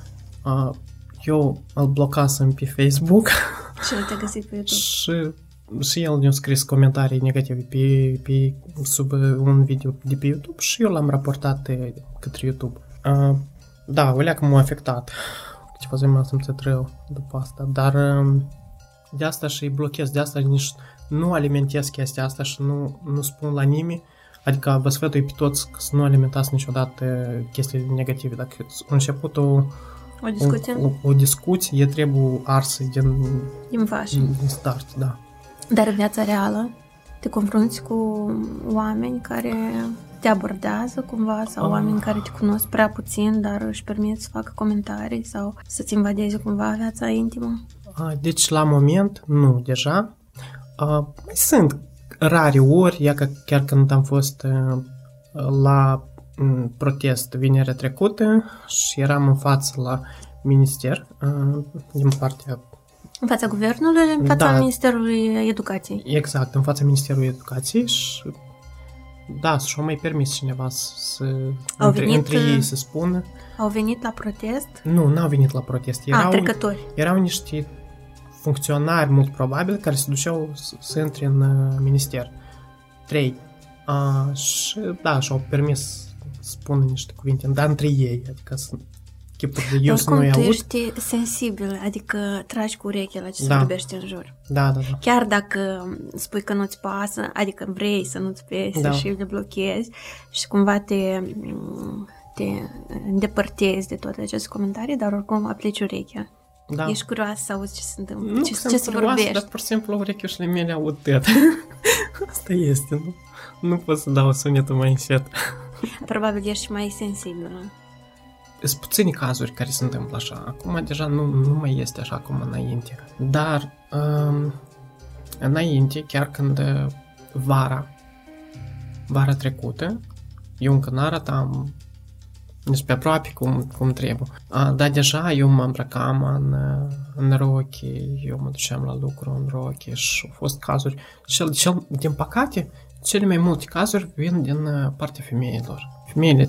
Eu îl blocasem pe Facebook. Și el te-a găsit pe YouTube. Și el ne-a scris comentarii negative sub un video de pe YouTube și eu l-am raportat către YouTube. Da, o leacă m-a afectat. Câteva zi m-am simțit rău după asta, dar de asta și blochez, de asta nici nu alimentez chestia asta și nu spun la nimeni. Adică vă sfătui pe toți să nu alimentați niciodată chestiile negative. Dacă a început o discuție, trebuie arsă din start, da. Dar în viața reală te confrunți cu oameni care te abordează cumva sau oameni care te cunosc prea puțin, dar își permit să facă comentarii sau să-ți invadeze cumva viața intimă? Deci la moment, nu, deja. Sunt rare ori, chiar când am fost la protest vinerea trecută și eram în față la minister din partea... În fața guvernului, în fața Ministerului Educației. Exact, în fața Ministerului Educației și da, și-au mai permis cineva să între ei să spună. Au venit la protest? Nu, n-au venit la protest. Trecători. Erau niște funcționari, mult probabil, care se duceau să intre în minister. 3. Și da, și-au permis să spună niște cuvinte, dar între ei, adică sunt chipuri de eu să nu-i aud. Tu ești sensibil, adică tragi cu urechea la ce se vorbește în jur. Da. Chiar dacă spui că nu-ți pasă, adică vrei să nu-ți pese și le blochezi și cumva te îndepărtezi de toate aceste comentarii, dar oricum aplici urechea. Da. Ești curioasă să auzi ce se întâmplă, Nu ce sunt se curioasă, vorbește. dar pur și simplu urechiușile mele aud tăt. Asta este, nu? Nu pot să dau sunetul mai încet. Probabil ești mai sensibilă. Sunt puține cazuri care se întâmplă așa. Acum deja nu mai este așa cum înainte. Dar înainte, chiar când vara trecută, eu încă n-arătam nici pe aproape cum trebuie. Dar deja eu mă îmbrăcam în rochi, eu mă duceam la lucru în rochi și au fost cazuri. Din păcate, cele mai multe cazuri vin din partea femeilor. Femeile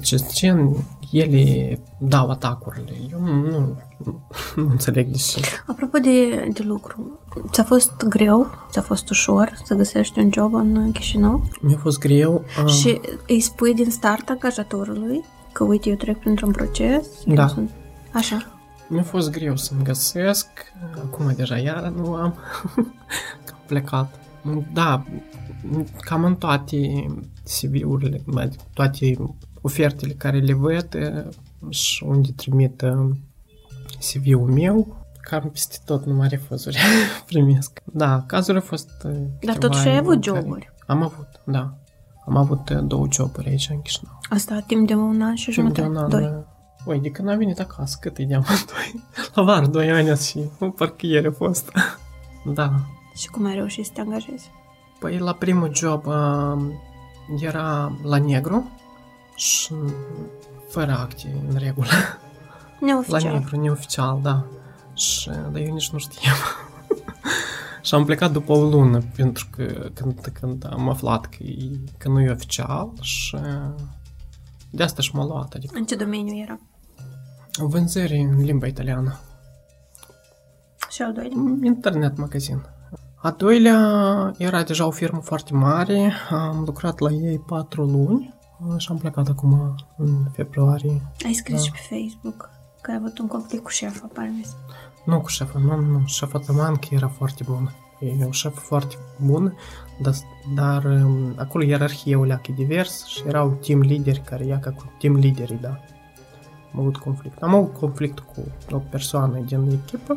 ele dau atacurile. Eu nu înțeleg de ce. Apropo de lucru, ți-a fost greu, ți-a fost ușor să găsești un job în Chișinău? Mi-a fost greu. Și îi spui din start angajatorului că, uite, eu trec printr-un proces? Da. Așa. Mi-a fost greu să-mi găsesc. Acum deja iară nu am. Că am plecat. Da, cam în toate CV-urile, toate ofertele care le văd și unde trimit CV-ul meu, cam peste tot numai refuzuri primesc. Da, cazul a fost Dar totuși ai avut joburi. Am avut, da. Am avut 2 joburi aici în Chișinău. Asta timp de 1 an și jumătate? Timp de 1 an, 2. Oi, de când am venit acasă, cât îi deam? La vară, 2 ani și parcă ieri a fost. Da. Și cum ai reușit să te angajezi? Păi la primul job era la negru și fără acte în regulă. Neoficial. La negru, neoficial, da. Și, dar eu nici nu știam. Și am plecat după o lună, pentru că când am aflat că nu e oficial și de asta și m-a luat. Adică În ce domeniu era? vânzări în limba italiană. Și al doilea? Internet magazin. A doilea era deja o firmă foarte mare, am lucrat la ei 4 luni și am plecat acum în februarie. Ai scris și pe Facebook că ai avut un conflict cu șefa, pare. Nu cu șefa, nu, șefa Tamancă era foarte bună. E o șefă foarte bună, dar acolo ierarhia o leacă divers și erau team lideri care ia ca cu team liderii, da. Am avut conflict. Am avut conflict cu o persoană din echipă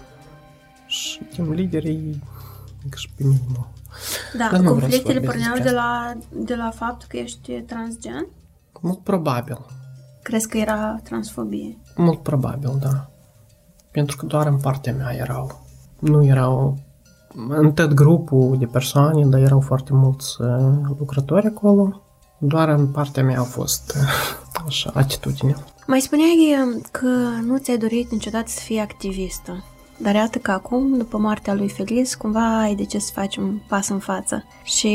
și team liderii și pe minimum. Da, conflictele porneau de la faptul că ești transgen? Mult probabil. Crezi că era transfobie? Mult probabil, da. Pentru că doar în partea mea nu erau în tot grupul de persoane, dar erau foarte mulți lucrători acolo. Doar în partea mea a fost așa atitudine. Mai spuneai că nu ți-ai dorit niciodată să fii activistă. Dar iată că acum, după moartea lui Feliz, cumva ai decis să faci un pas în față și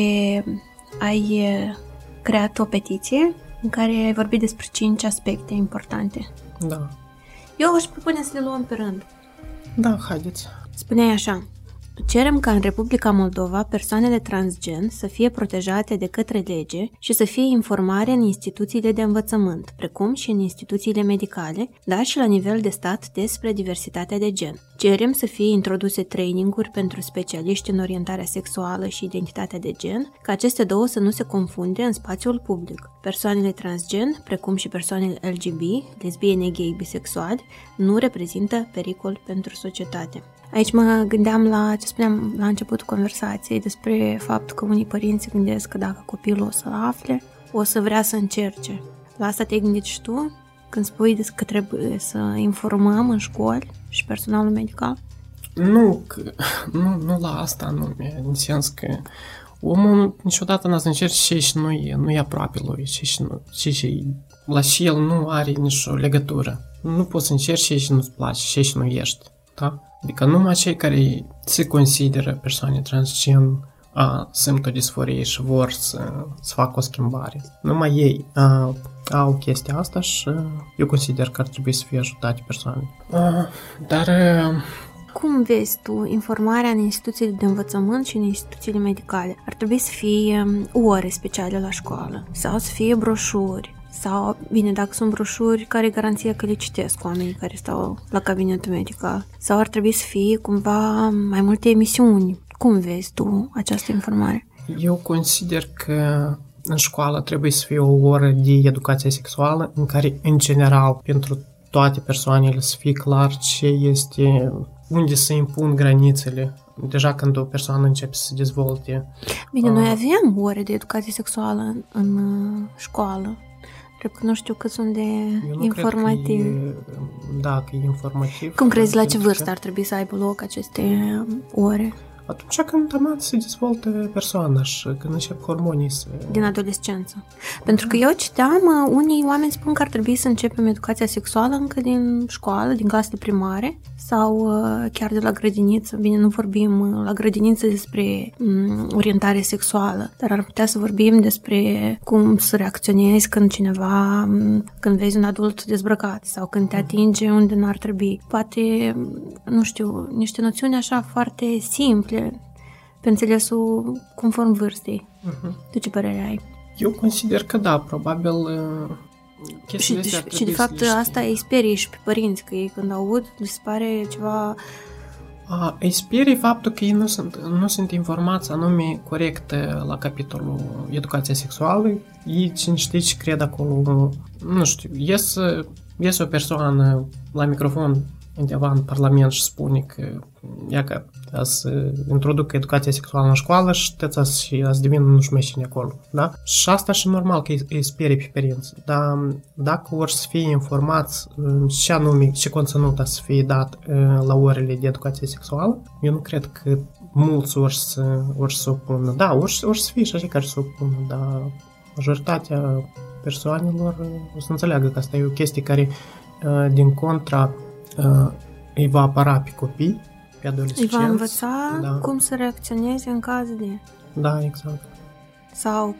ai creat o petiție în care ai vorbit despre 5 aspecte importante. Da. Eu aș propune să le luăm pe rând. Da, haideți. Spuneai așa: cerem ca în Republica Moldova persoanele transgen să fie protejate de către lege și să fie informare în instituțiile de învățământ, precum și în instituțiile medicale, dar și la nivel de stat despre diversitatea de gen. Cerem să fie introduse traininguri pentru specialiști în orientarea sexuală și identitatea de gen, ca aceste două să nu se confunde în spațiul public. Persoanele transgen, precum și persoanele LGB, lesbiene, gay, bisexuali, nu reprezintă pericol pentru societate. Aici mă gândeam la ce spuneam la începutul conversației despre faptul că unii părinți se gândesc că dacă copilul o să afle, o să vrea să încerce. La asta te-ai gândit și tu când spui că trebuie să informăm în școli și personalul medical? Nu la asta anume, în sens că omul niciodată n-a să încerce și nu e aproape lui, și la și el nu are nicio legătură. Nu poți să încerci și nu-ți place, și nu ești, da? Adică numai cei care se consideră persoane transgen simt o disforie și vor să facă o schimbare. Numai ei au chestia asta și eu consider că ar trebui să fie ajutate persoane. Dar... Cum vezi tu informarea în instituțiile de învățământ și în instituțiile medicale? Ar trebui să fie ore speciale la școală sau să fie broșuri? Sau, bine, dacă sunt broșuri, care e garanția că le citesc oamenii care stau la cabinetul medical? Sau ar trebui să fie cumva mai multe emisiuni? Cum vezi tu această informare? Eu consider că în școală trebuie să fie o oră de educație sexuală în care, în general, pentru toate persoanele să fie clar ce este, unde se impun granițele. Deja când o persoană începe să se dezvolte. Bine, noi avem ore de educație sexuală în școală. Cred că nu știu cât sunt de informativ. Da, că e informativ. Cum crezi, la ce vârstă ar trebui să aibă loc aceste ore? Atunci când se dezvoltă persoana și când încep hormonii să... Din adolescență. Pentru că eu citeam, unii oameni spun că ar trebui să începem educația sexuală încă din școală, din clasele primare sau chiar de la grădiniță. Bine, nu vorbim la grădiniță despre orientare sexuală, dar ar putea să vorbim despre cum să reacționezi când vezi un adult dezbrăcat sau când te atinge unde n-ar trebui. Poate, nu știu, niște noțiuni așa foarte simple pe înțelesul conform vârstei. Tu ce părere ai? Eu consider că da, probabil și de fapt asta îi sperie și pe părinți, că ei când aud li se pare ceva... Îi sperie faptul că ei nu sunt informați anume corect la capitolul educația sexuală. Ei cine știe ce cred acolo, nu știu, ies o persoană la microfon undeva în Parlament și spune că ea că să introducă educația sexuală în școală și și să devină nu știu mai cine acolo, da? Și asta și normal că îi sperie pe părinți, dar dacă vor să fie informați ce anume, ce conținut să fie dat la orele de educație sexuală, eu nu cred că mulți ori să opună. Da, ori să fie și așa care să opună, dar majoritatea persoanelor o să înțeleagă că asta e o chestie care din contra îi va apăra pe copii, pe adolescenți. Îi va învăța cum să reacționeze în caz de... Da, exact. Sau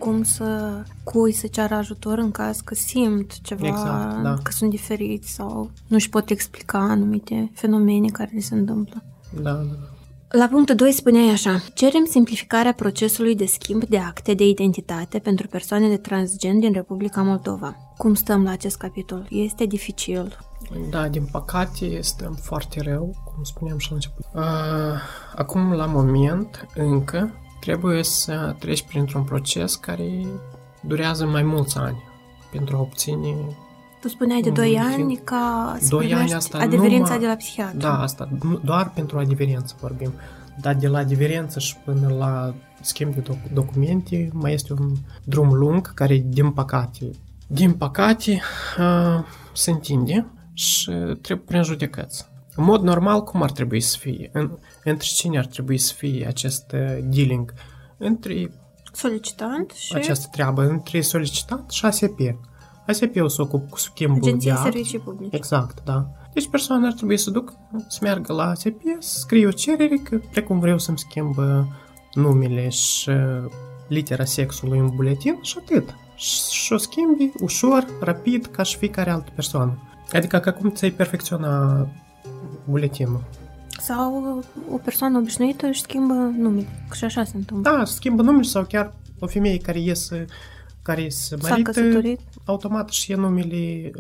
cui să ceară ajutor în caz că simt ceva, exact, da. Că sunt diferiți sau nu-și pot explica anumite fenomene care le se întâmplă. Da. La punctul 2 spuneai așa: cerem simplificarea procesului de schimb de acte de identitate pentru persoanele transgen din Republica Moldova. Cum stăm la acest capitol? Este dificil? Da, din păcate stăm foarte rău, cum spuneam și la început. Acum, la moment, încă trebuie să treci printr-un proces care durează mai mulți ani pentru a obține... Tu spuneai de 2 ani ca să 2 ani asta adeverința de la psihiatru. Da, asta doar pentru adeverință vorbim. Dar de la adeverință și până la schimb de documente mai este un drum lung care, din păcate, se întinde și trebuie prin judecăți. În mod normal, cum ar trebui să fie? Între cine ar trebui să fie acest dealing? Între solicitant și... Această treabă între solicitant și ASP. ASP-ul se ocupă cu schimbul Agenția de act. Servicii Publice. Exact, da. Deci persoana ar trebui să meargă la ASP, să scrie o cerere că precum vreau să-mi schimb numele și litera sexului în buletin și atât. Și o schimbi ușor, rapid, ca și fiecare altă persoană. Adică ca cum ți-ai perfecționa buletinul. Sau o persoană obișnuită își schimbă numele, că și așa se întâmplă. Da, schimbă numele sau chiar o femeie care se marită, automat și e numele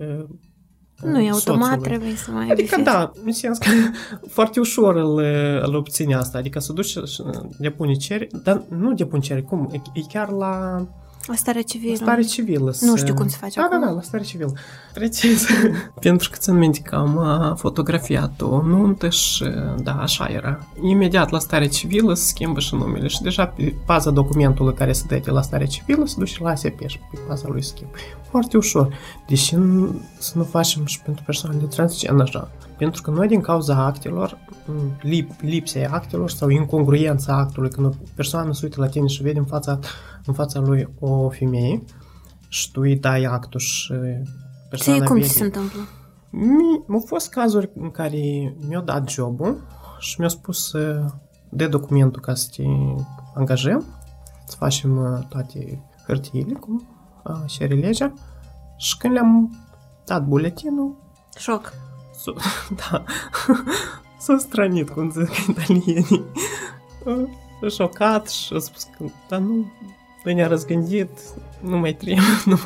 nu e automat, soțului. Trebuie să mai adică da, în sens că foarte ușor îl obține asta, adică să duci și depune cerere, dar nu depune cerere, cum? E chiar la stare civilă. Stare civilă. Nu știu cum se face acum. Da, la stare civilă. Precis. Pentru că țin minte că am fotografiat o nuntă și da, așa era. Imediat la stare civilă se schimbă și numele și deja pe baza documentului care se dă de la stare civilă se duce la ASP și pe baza lui schimb. Foarte ușor. Deși să nu facem și pentru persoanele transgen așa. Pentru că noi din cauza actelor, lipsei actelor sau incongruența actului, când o persoană se uită la tine și vede în fața lui o femeie și tu îi dai actul și persoana vede... cum se întâmplă? Au fost cazuri în care mi-au dat jobul și mi-au spus de documentul ca să te angajăm, să facem toate hârtiile, cum cere legea, și când le-am dat buletinul... Șoc. Da, s-a stranit, cum zic italienii. S-a șocat și a spus că, dar nu, noi ne-a răzgândit, nu mai trebuie,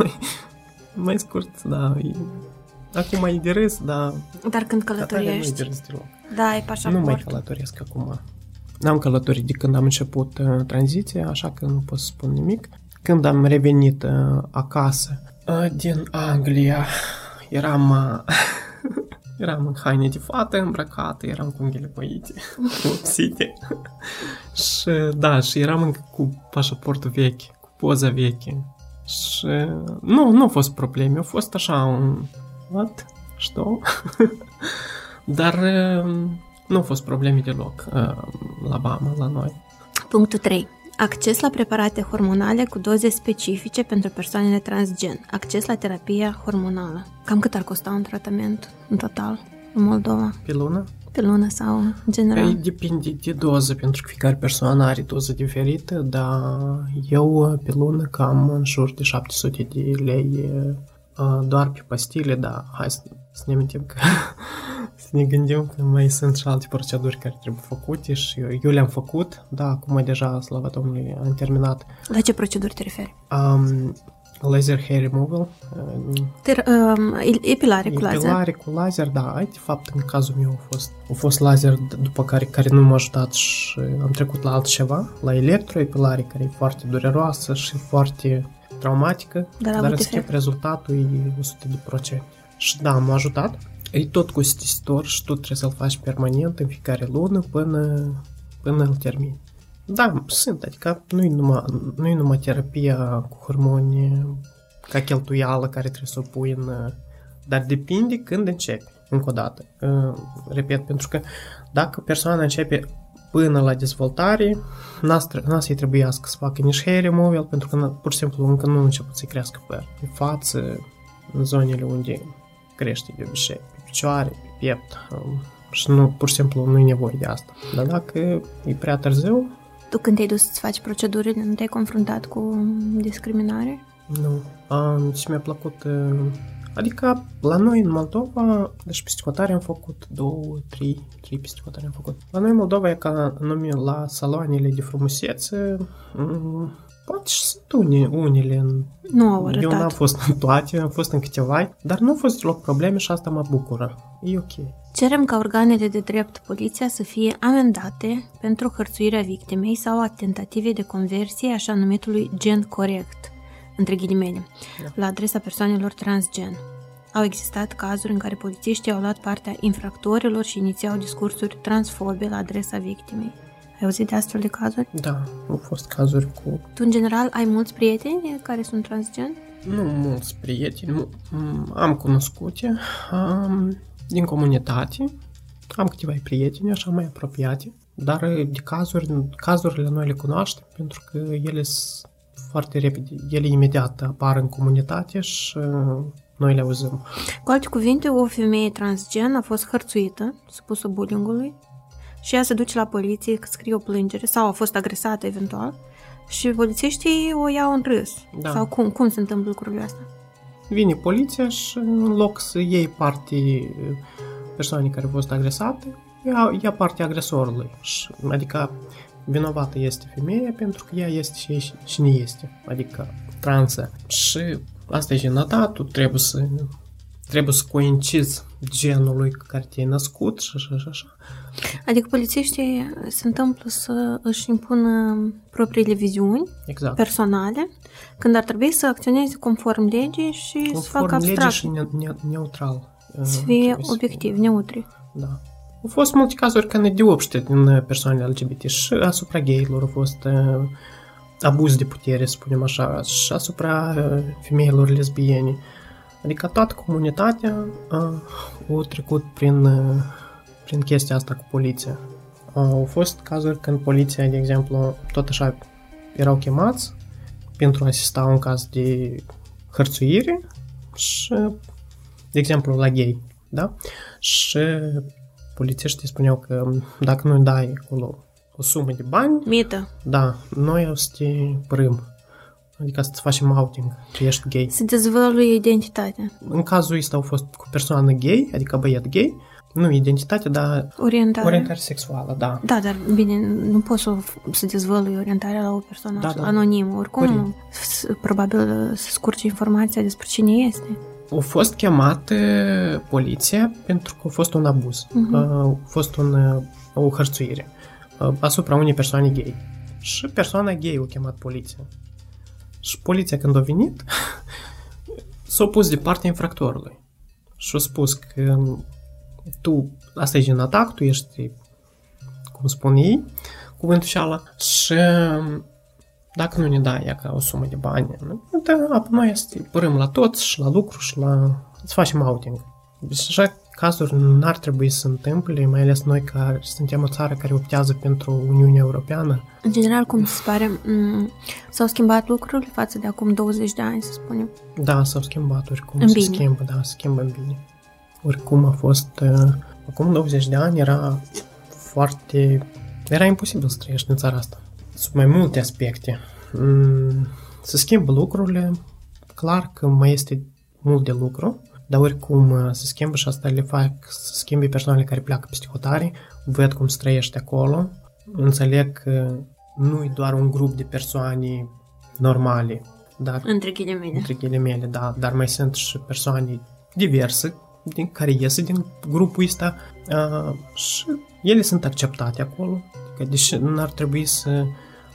mai scurt, da, acum e de râs, da. Dar când călătoriești, nu e de râs deloc. Da, ai pașaport. Nu mai călătoresc acum. N-am călătorit de când am început tranziția, așa că nu pot să spun nimic. Când am revenit acasă din Anglia, eram Eram în haine de fată îmbrăcată, eram cu unghiile păite, vopsite. Și da, și eram încă cu pașaportul vechi, cu poza veche. Și nu a fost probleme, a fost așa un... What? Știu? Dar nu au fost probleme deloc la Bama, la noi. Punctul 3. Acces la preparate hormonale cu doze specifice pentru persoanele transgen. Acces la terapia hormonală. Cam cât ar costa un tratament în total în Moldova? Pe lună? Pe lună sau în general? Depinde de doză, pentru că fiecare persoană are doză diferită, dar eu pe lună cam în jur de 700 de lei doar pe pastile, dar hai să ne amintim că să ne gândim că mai sunt și alte proceduri care trebuie făcute și eu le-am făcut, da, acum deja, slavă Domnului, am terminat. La ce proceduri te referi? Laser hair removal. Epilare cu laser. Epilare cu laser, da. De fapt, în cazul meu a fost laser, după care nu m-a ajutat și am trecut la altceva, la electroepilare, care e foarte dureroasă și foarte traumatică, dar în schimb rezultatul e 100%. Și da, m-a ajutat. E tot costisitor și tot trebuie să-l faci permanent în fiecare lună până îl termini. Da, sunt, adică nu-i numai terapia cu hormoni ca cheltuială care trebuie să o pui în... Dar depinde când începi, încă o dată. Repet, pentru că dacă persoana începe până la dezvoltare, n-a să-i trebuiască să facă nici hair removal, pentru că pur și simplu încă nu a început să crească păr. Pe față, în zonele unde crește de obicei, pe picioare, pe piept, și pur și simplu nu e nevoie de asta. Dar dacă e prea târziu... Tu când te-ai dus să-ți faci procedurile, nu te-ai confruntat cu discriminare? Nu. Și mi-a plăcut... Adică, la noi în Moldova, deci pisticotare am făcut 2-3 pisticotare am făcut. La noi în Moldova e ca nume la saloanele de frumusețe, poate și sunt unele. Nu au arătat. Eu n-am fost în toate, am fost în câteva, dar nu au fost deloc probleme și asta mă bucură. E ok. Cerem ca organele de drept, poliția, să fie amendate pentru hărțuirea victimei sau a tentativei de conversie așa numitului gen corect, între ghilimele, la adresa persoanelor transgen. Au existat cazuri în care polițiștii au luat partea infractorilor și inițiau discursuri transfobe la adresa victimei. Ai auzit de astfel de cazuri? Da, au fost cazuri cu... Tu, în general, ai mulți prieteni care sunt transgen? Nu mulți prieteni, am cunoscute din comunitate, am câteva prieteni așa mai apropiate, dar de cazurile noi le cunoaștem pentru că ele sunt foarte repede, ele imediat apar în comunitate și noi le auzim. Cu alte cuvinte, o femeie transgen a fost hărțuită, supusă bullying-ului, și ea se duce la poliție, scrie o plângere sau a fost agresată eventual și polițiștii o iau în râs. Da. Sau cum se întâmplă lucrurile astea? Vine poliția și în loc să iei parte persoanei care a fost agresate, ia partea agresorului. Adică vinovată este femeia pentru că ea este și nu este, adică transă. Și asta e jenata, tu trebuie să coincizi genului care te-ai născut și așa. Adică polițiștii se întâmplă să își impună propriile viziuni personale, când ar trebui să acționeze conform legii și să facă abstract. Conform legii și neutral. Să fie obiectiv, neutri. Da. Au fost multe cazuri când de obște din persoanele LGBT și asupra gayilor au fost abuz de putere, să spunem așa, și asupra femeilor lesbiene. Adică toată comunitatea a trecut prin chestia asta cu poliția. Au fost cazuri când poliția, de exemplu, tot așa erau chemați pentru a asista un caz de hărțuire și, de exemplu, la gay, da? Și polițiștii spuneau că dacă nu dai acolo o sumă de bani... Mită. Da, noi o să te părâm. Adică să-ți facem outing, că ești gay. Să dezvăluie identitatea. În cazul ăsta au fost cu persoană gay, adică băiat gay, nu identitate, dar orientare sexuală, da. Da, dar bine, nu poți să dezvălui orientarea la o persoană anonimă. Oricum, probabil să scurge informația despre cine este. A fost chemată poliția pentru că a fost un abuz. A fost o hărțuire asupra unei persoane gay. Și persoana gay a chemat poliția. Și poliția, când a venit, s-a pus de partea infractorului. Și a spus că tu, asta e gen atac, tu ești, cum spun ei, cuvântul șala, și dacă nu ne dai ea ca o sumă de bani, apoi noi părâm la toți și la lucru și să facem outing. Deci așa cazuri n-ar trebui să se întâmple, mai ales noi care suntem o țară care optează pentru Uniunea Europeană. În general, cum se pare, s-au schimbat lucrurile față de acum 20 de ani, să spunem? Da, s-au schimbat, oricum în se bine. schimbă, da, se schimbă în bine. Oricum a fost, acum 20 de ani era imposibil să trăiești în țara asta. Sunt mai multe aspecte. Se schimbă lucrurile, clar că mai este mult de lucru, dar oricum se schimbă și asta le fac să schimbe persoanele care pleacă peste hotare, văd cum se trăiește acolo, înțeleg că nu e doar un grup de persoane normale, dar Între ghilimele, da, dar mai sunt și persoane diverse care iese din grupul ăsta și ele sunt acceptate acolo, că deși n-ar trebui să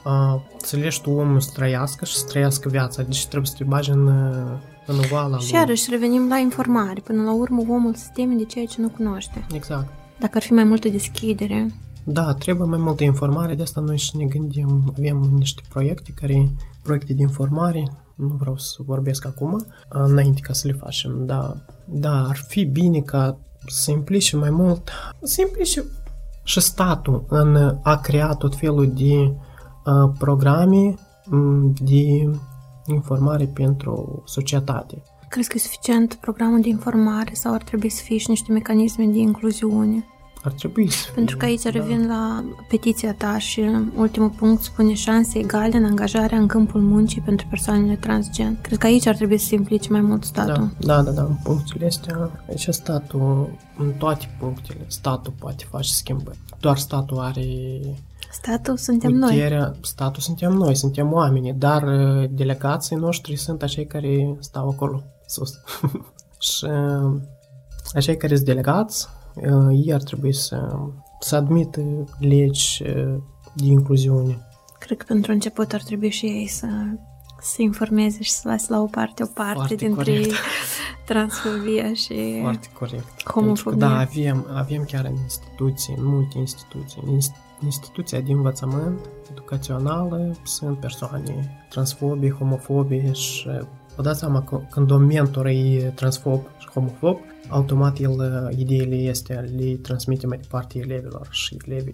lași tu omul să trăiască și să trăiască viața, deci trebuie să te bagi în oala lui. Și iarăși revenim la informare. Până la urmă, omul se teme de ceea ce nu cunoaște. Exact. Dacă ar fi mai multă deschidere. Da, trebuie mai multă informare, de asta noi și ne gândim, avem niște proiecte de informare, nu vreau să vorbesc acum, înainte ca să le facem, da, ar fi bine ca să implice mai mult, să implice și statul în a crea tot felul de programe de informare pentru societate. Crezi că e suficient programul de informare sau ar trebui să fie și niște mecanisme de incluziune? Ar trebui să fie. Pentru că aici revin la petiția ta și ultimul punct spune șanse egale în angajarea în câmpul muncii pentru persoanele transgen. Cred că aici ar trebui să se implice mai mult statul. Da, în punctele astea, aici statul, în toate punctele, statul poate face schimbări. Doar statul are Statul suntem puterea, noi. Statul suntem noi, suntem oamenii, dar delegații noștri sunt acei care stau acolo sus. Și acei care sunt delegați, ei ar trebui să admită legi de incluziune. Cred că pentru început ar trebui și ei să se informeze și să lase la o parte Foarte dintre corect. transfobia și Foarte corect. homofobia. Da, avem chiar în instituții, în multe instituții. În instituția de învățământ educațională sunt persoane transfobe, homofobe și vă dați seama că când un mentor e transfob și homofob, automat ideile astea le transmite mai departe elevilor și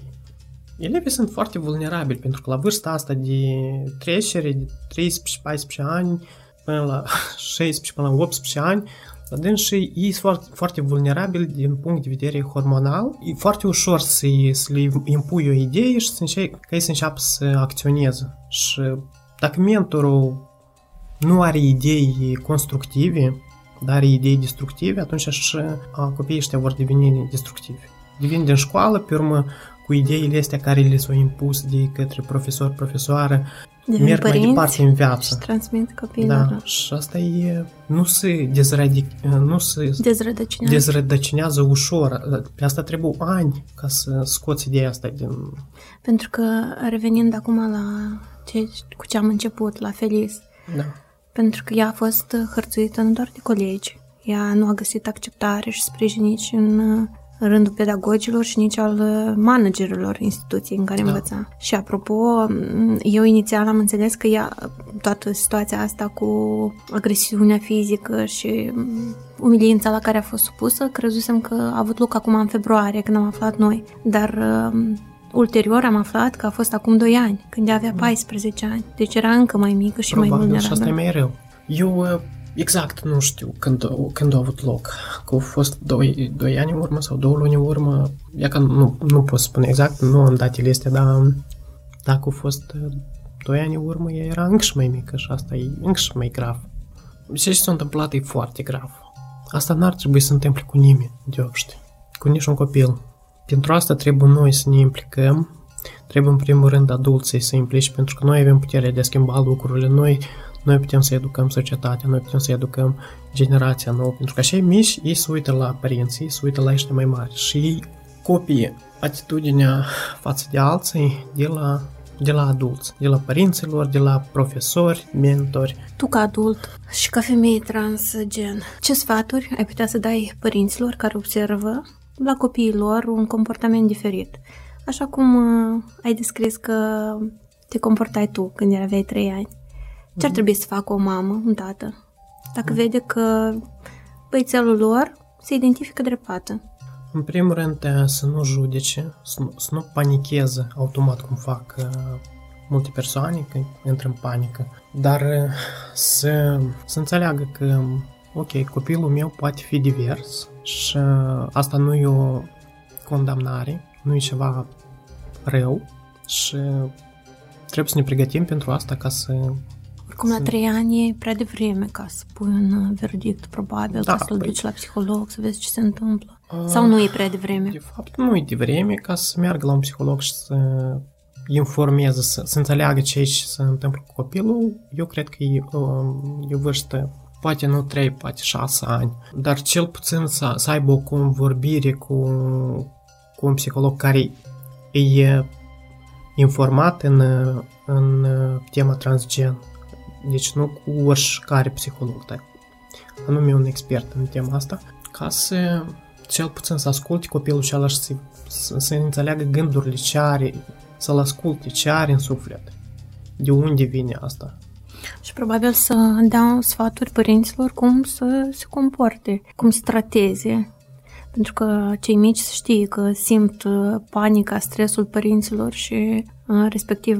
elevii sunt foarte vulnerabili pentru că la vârsta asta de trecere de 13-14 ani până la 16 până la 18 ani, și ei sunt foarte vulnerabili din punct de vedere hormonal. E foarte ușor să le impui o idee și ca ei să înceapă să acționeze. Și dacă mentorul nu are idei constructive, dar are idei destructive, atunci și copiii ăștia vor deveni destructivi. Devin din școală, pe urmă, cu ideile astea care le s-au impus de către profesor, profesoară, merg mai departe în viață. Și transmit copiilor. Da, și asta e, nu se dezrădăcinează ușor. Pe asta trebuie ani ca să scoți ideea asta din... Pentru că, revenind acum cu ce am început, la Feliz, da. Pentru că ea a fost hărțuită nu doar de colegi, ea nu a găsit acceptare și sprijin nici în rândul pedagogilor și nici al managerilor instituției în care învăța. Și apropo, eu inițial am înțeles că toată situația asta cu agresiunea fizică și umilința la care a fost supusă, crezusem că a avut loc acum în februarie, când am aflat noi. Dar ulterior am aflat că a fost acum 2 ani, când ea avea 14 ani. Deci era încă mai mică și probabil, mai vulnerabilă. Și asta e mai rău. Eu exact nu știu când a avut loc. Că au fost 2 ani în urmă sau 2 luni în urmă. E că nu pot spune exact, nu am datele astea, dar dacă au fost 2 ani în urmă, ea era încă și mai mică și asta e încă și mai grav. Ce s-a întâmplat e foarte grav. Asta n-ar trebui să se întâmple cu nimeni, de obște, cu niciun copil. Pentru asta trebuie noi să ne implicăm, trebuie în primul rând adulții să implice, pentru că noi avem puterea de a schimba lucrurile, noi putem să educăm societatea, noi putem să educăm generația nouă, pentru că așa mici, ei se uită la părinții, ei se uită la ăștia mai mari și ei copie atitudinea față de alții de la adulți, de la părinților, de la profesori, mentori. Tu ca adult și ca femeie transgen, ce sfaturi ai putea să dai părinților care observă la copiii lor un comportament diferit. Așa cum ai descris că te comportai tu când aveai 3 ani. Ce ar trebui să facă o mamă, un tată, dacă vede că băițelul lor se identifică drept fată? În primul rând, să nu judece, să nu panicheze automat cum fac multe persoane când intră în panică, dar să înțeleagă că, ok, copilul meu poate fi divers și asta nu e o condamnare, nu e ceva rău și trebuie să ne pregătim pentru asta ca să... Oricum, la 3 ani e prea devreme ca să pui un verdict, probabil, ca să-l duci la psiholog, să vezi ce se întâmplă. Sau nu e prea devreme? De fapt, nu e devreme ca să meargă la un psiholog și să informeze, să înțeleagă ce se întâmplă cu copilul. Eu cred că e o vârstă, poate nu 3, poate 6 ani, dar cel puțin să aibă o convorbire cu un psiholog care e informat în tema transgen. Deci nu cu oricare psiholog, dar anume un expert în tema asta, ca să cel puțin să asculte copilul și să înțeleagă gândurile ce are, să-l asculte ce are în suflet, de unde vine asta. Și probabil să dea sfaturi părinților cum să se comporte, cum să trateze. Pentru că cei mici știe că simt panica, stresul părinților și respectiv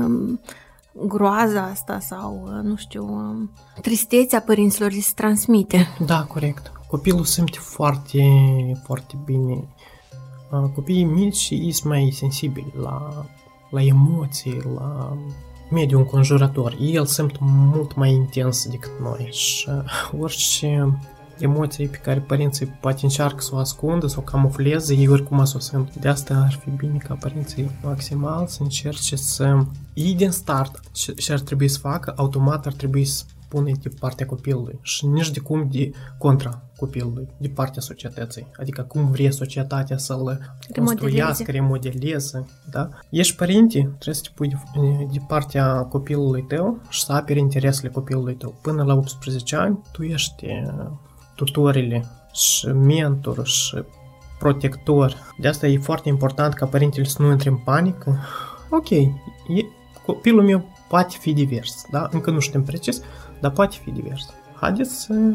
groaza asta sau, nu știu, tristețea părinților se transmite. Da, corect. Copilul simte foarte, foarte bine. Copiii mici sunt mai sensibili la emoții, la mediul înconjurător. El simt mult mai intens decât noi și orice emoții pe care părinții poate încearcă să o ascundă, să o camufleze, ei oricum o simt. De asta ar fi bine ca părinții maximal să încerce să iei din start și ar trebui să facă, automat ar trebui să pune de partea copilului și nici de cum de contra copilului, de partea societății. Adică cum vrea societatea să-l construiască, remodeleze. Da? Ești părinte, trebuie să te pui de partea copilului tău și să aperi interesele copilului tău. Până la 18 ani, tu ești tutorile și mentor și protector. De asta e foarte important ca părintele să nu intre în panică. Ok, copilul meu poate fi divers, da? Încă nu știm precis, dar poate fi divers. Haideți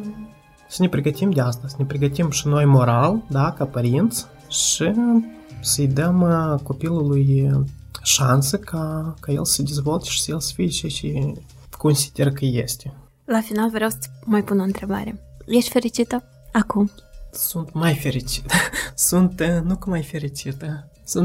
să ne pregătim de asta, să ne pregătim și noi moral, da, ca părinți și să-i dăm copilului șansă ca el să se dezvolte și să el să fie ce consider că este. La final vreau să mai pun o întrebare. Ești fericită acum? Sunt mai fericită. Nu că mai fericită.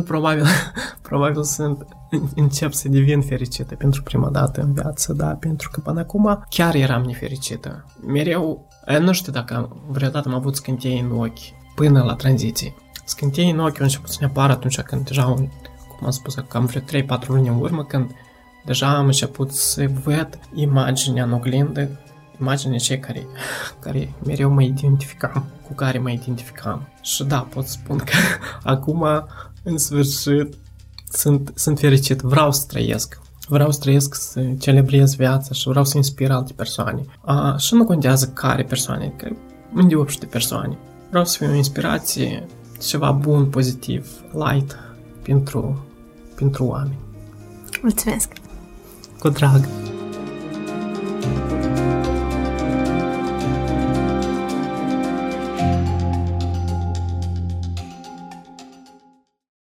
Probabil încep să devin fericită pentru prima dată în viață, da, pentru că până acum chiar eram nefericită. Mereu, nu știu dacă vreodată am avut scânteii în ochi până la tranziție. Scânteii în ochi au început să ne apară atunci când deja, cum am spus, cam vreo 3-4 luni în urmă, când deja am început să văd imaginea în oglindă, imaginea cei care mereu mă identificam, cu care mă identificam. Și da, pot spun că acum, în sfârșit, sunt fericit, vreau să trăiesc, să celebrez viața și vreau să inspir alte persoane. Și nu contează care persoane, că îndeopște persoane. Vreau să fiu o inspirație, ceva bun, pozitiv, light pentru oameni. Mulțumesc! Cu drag!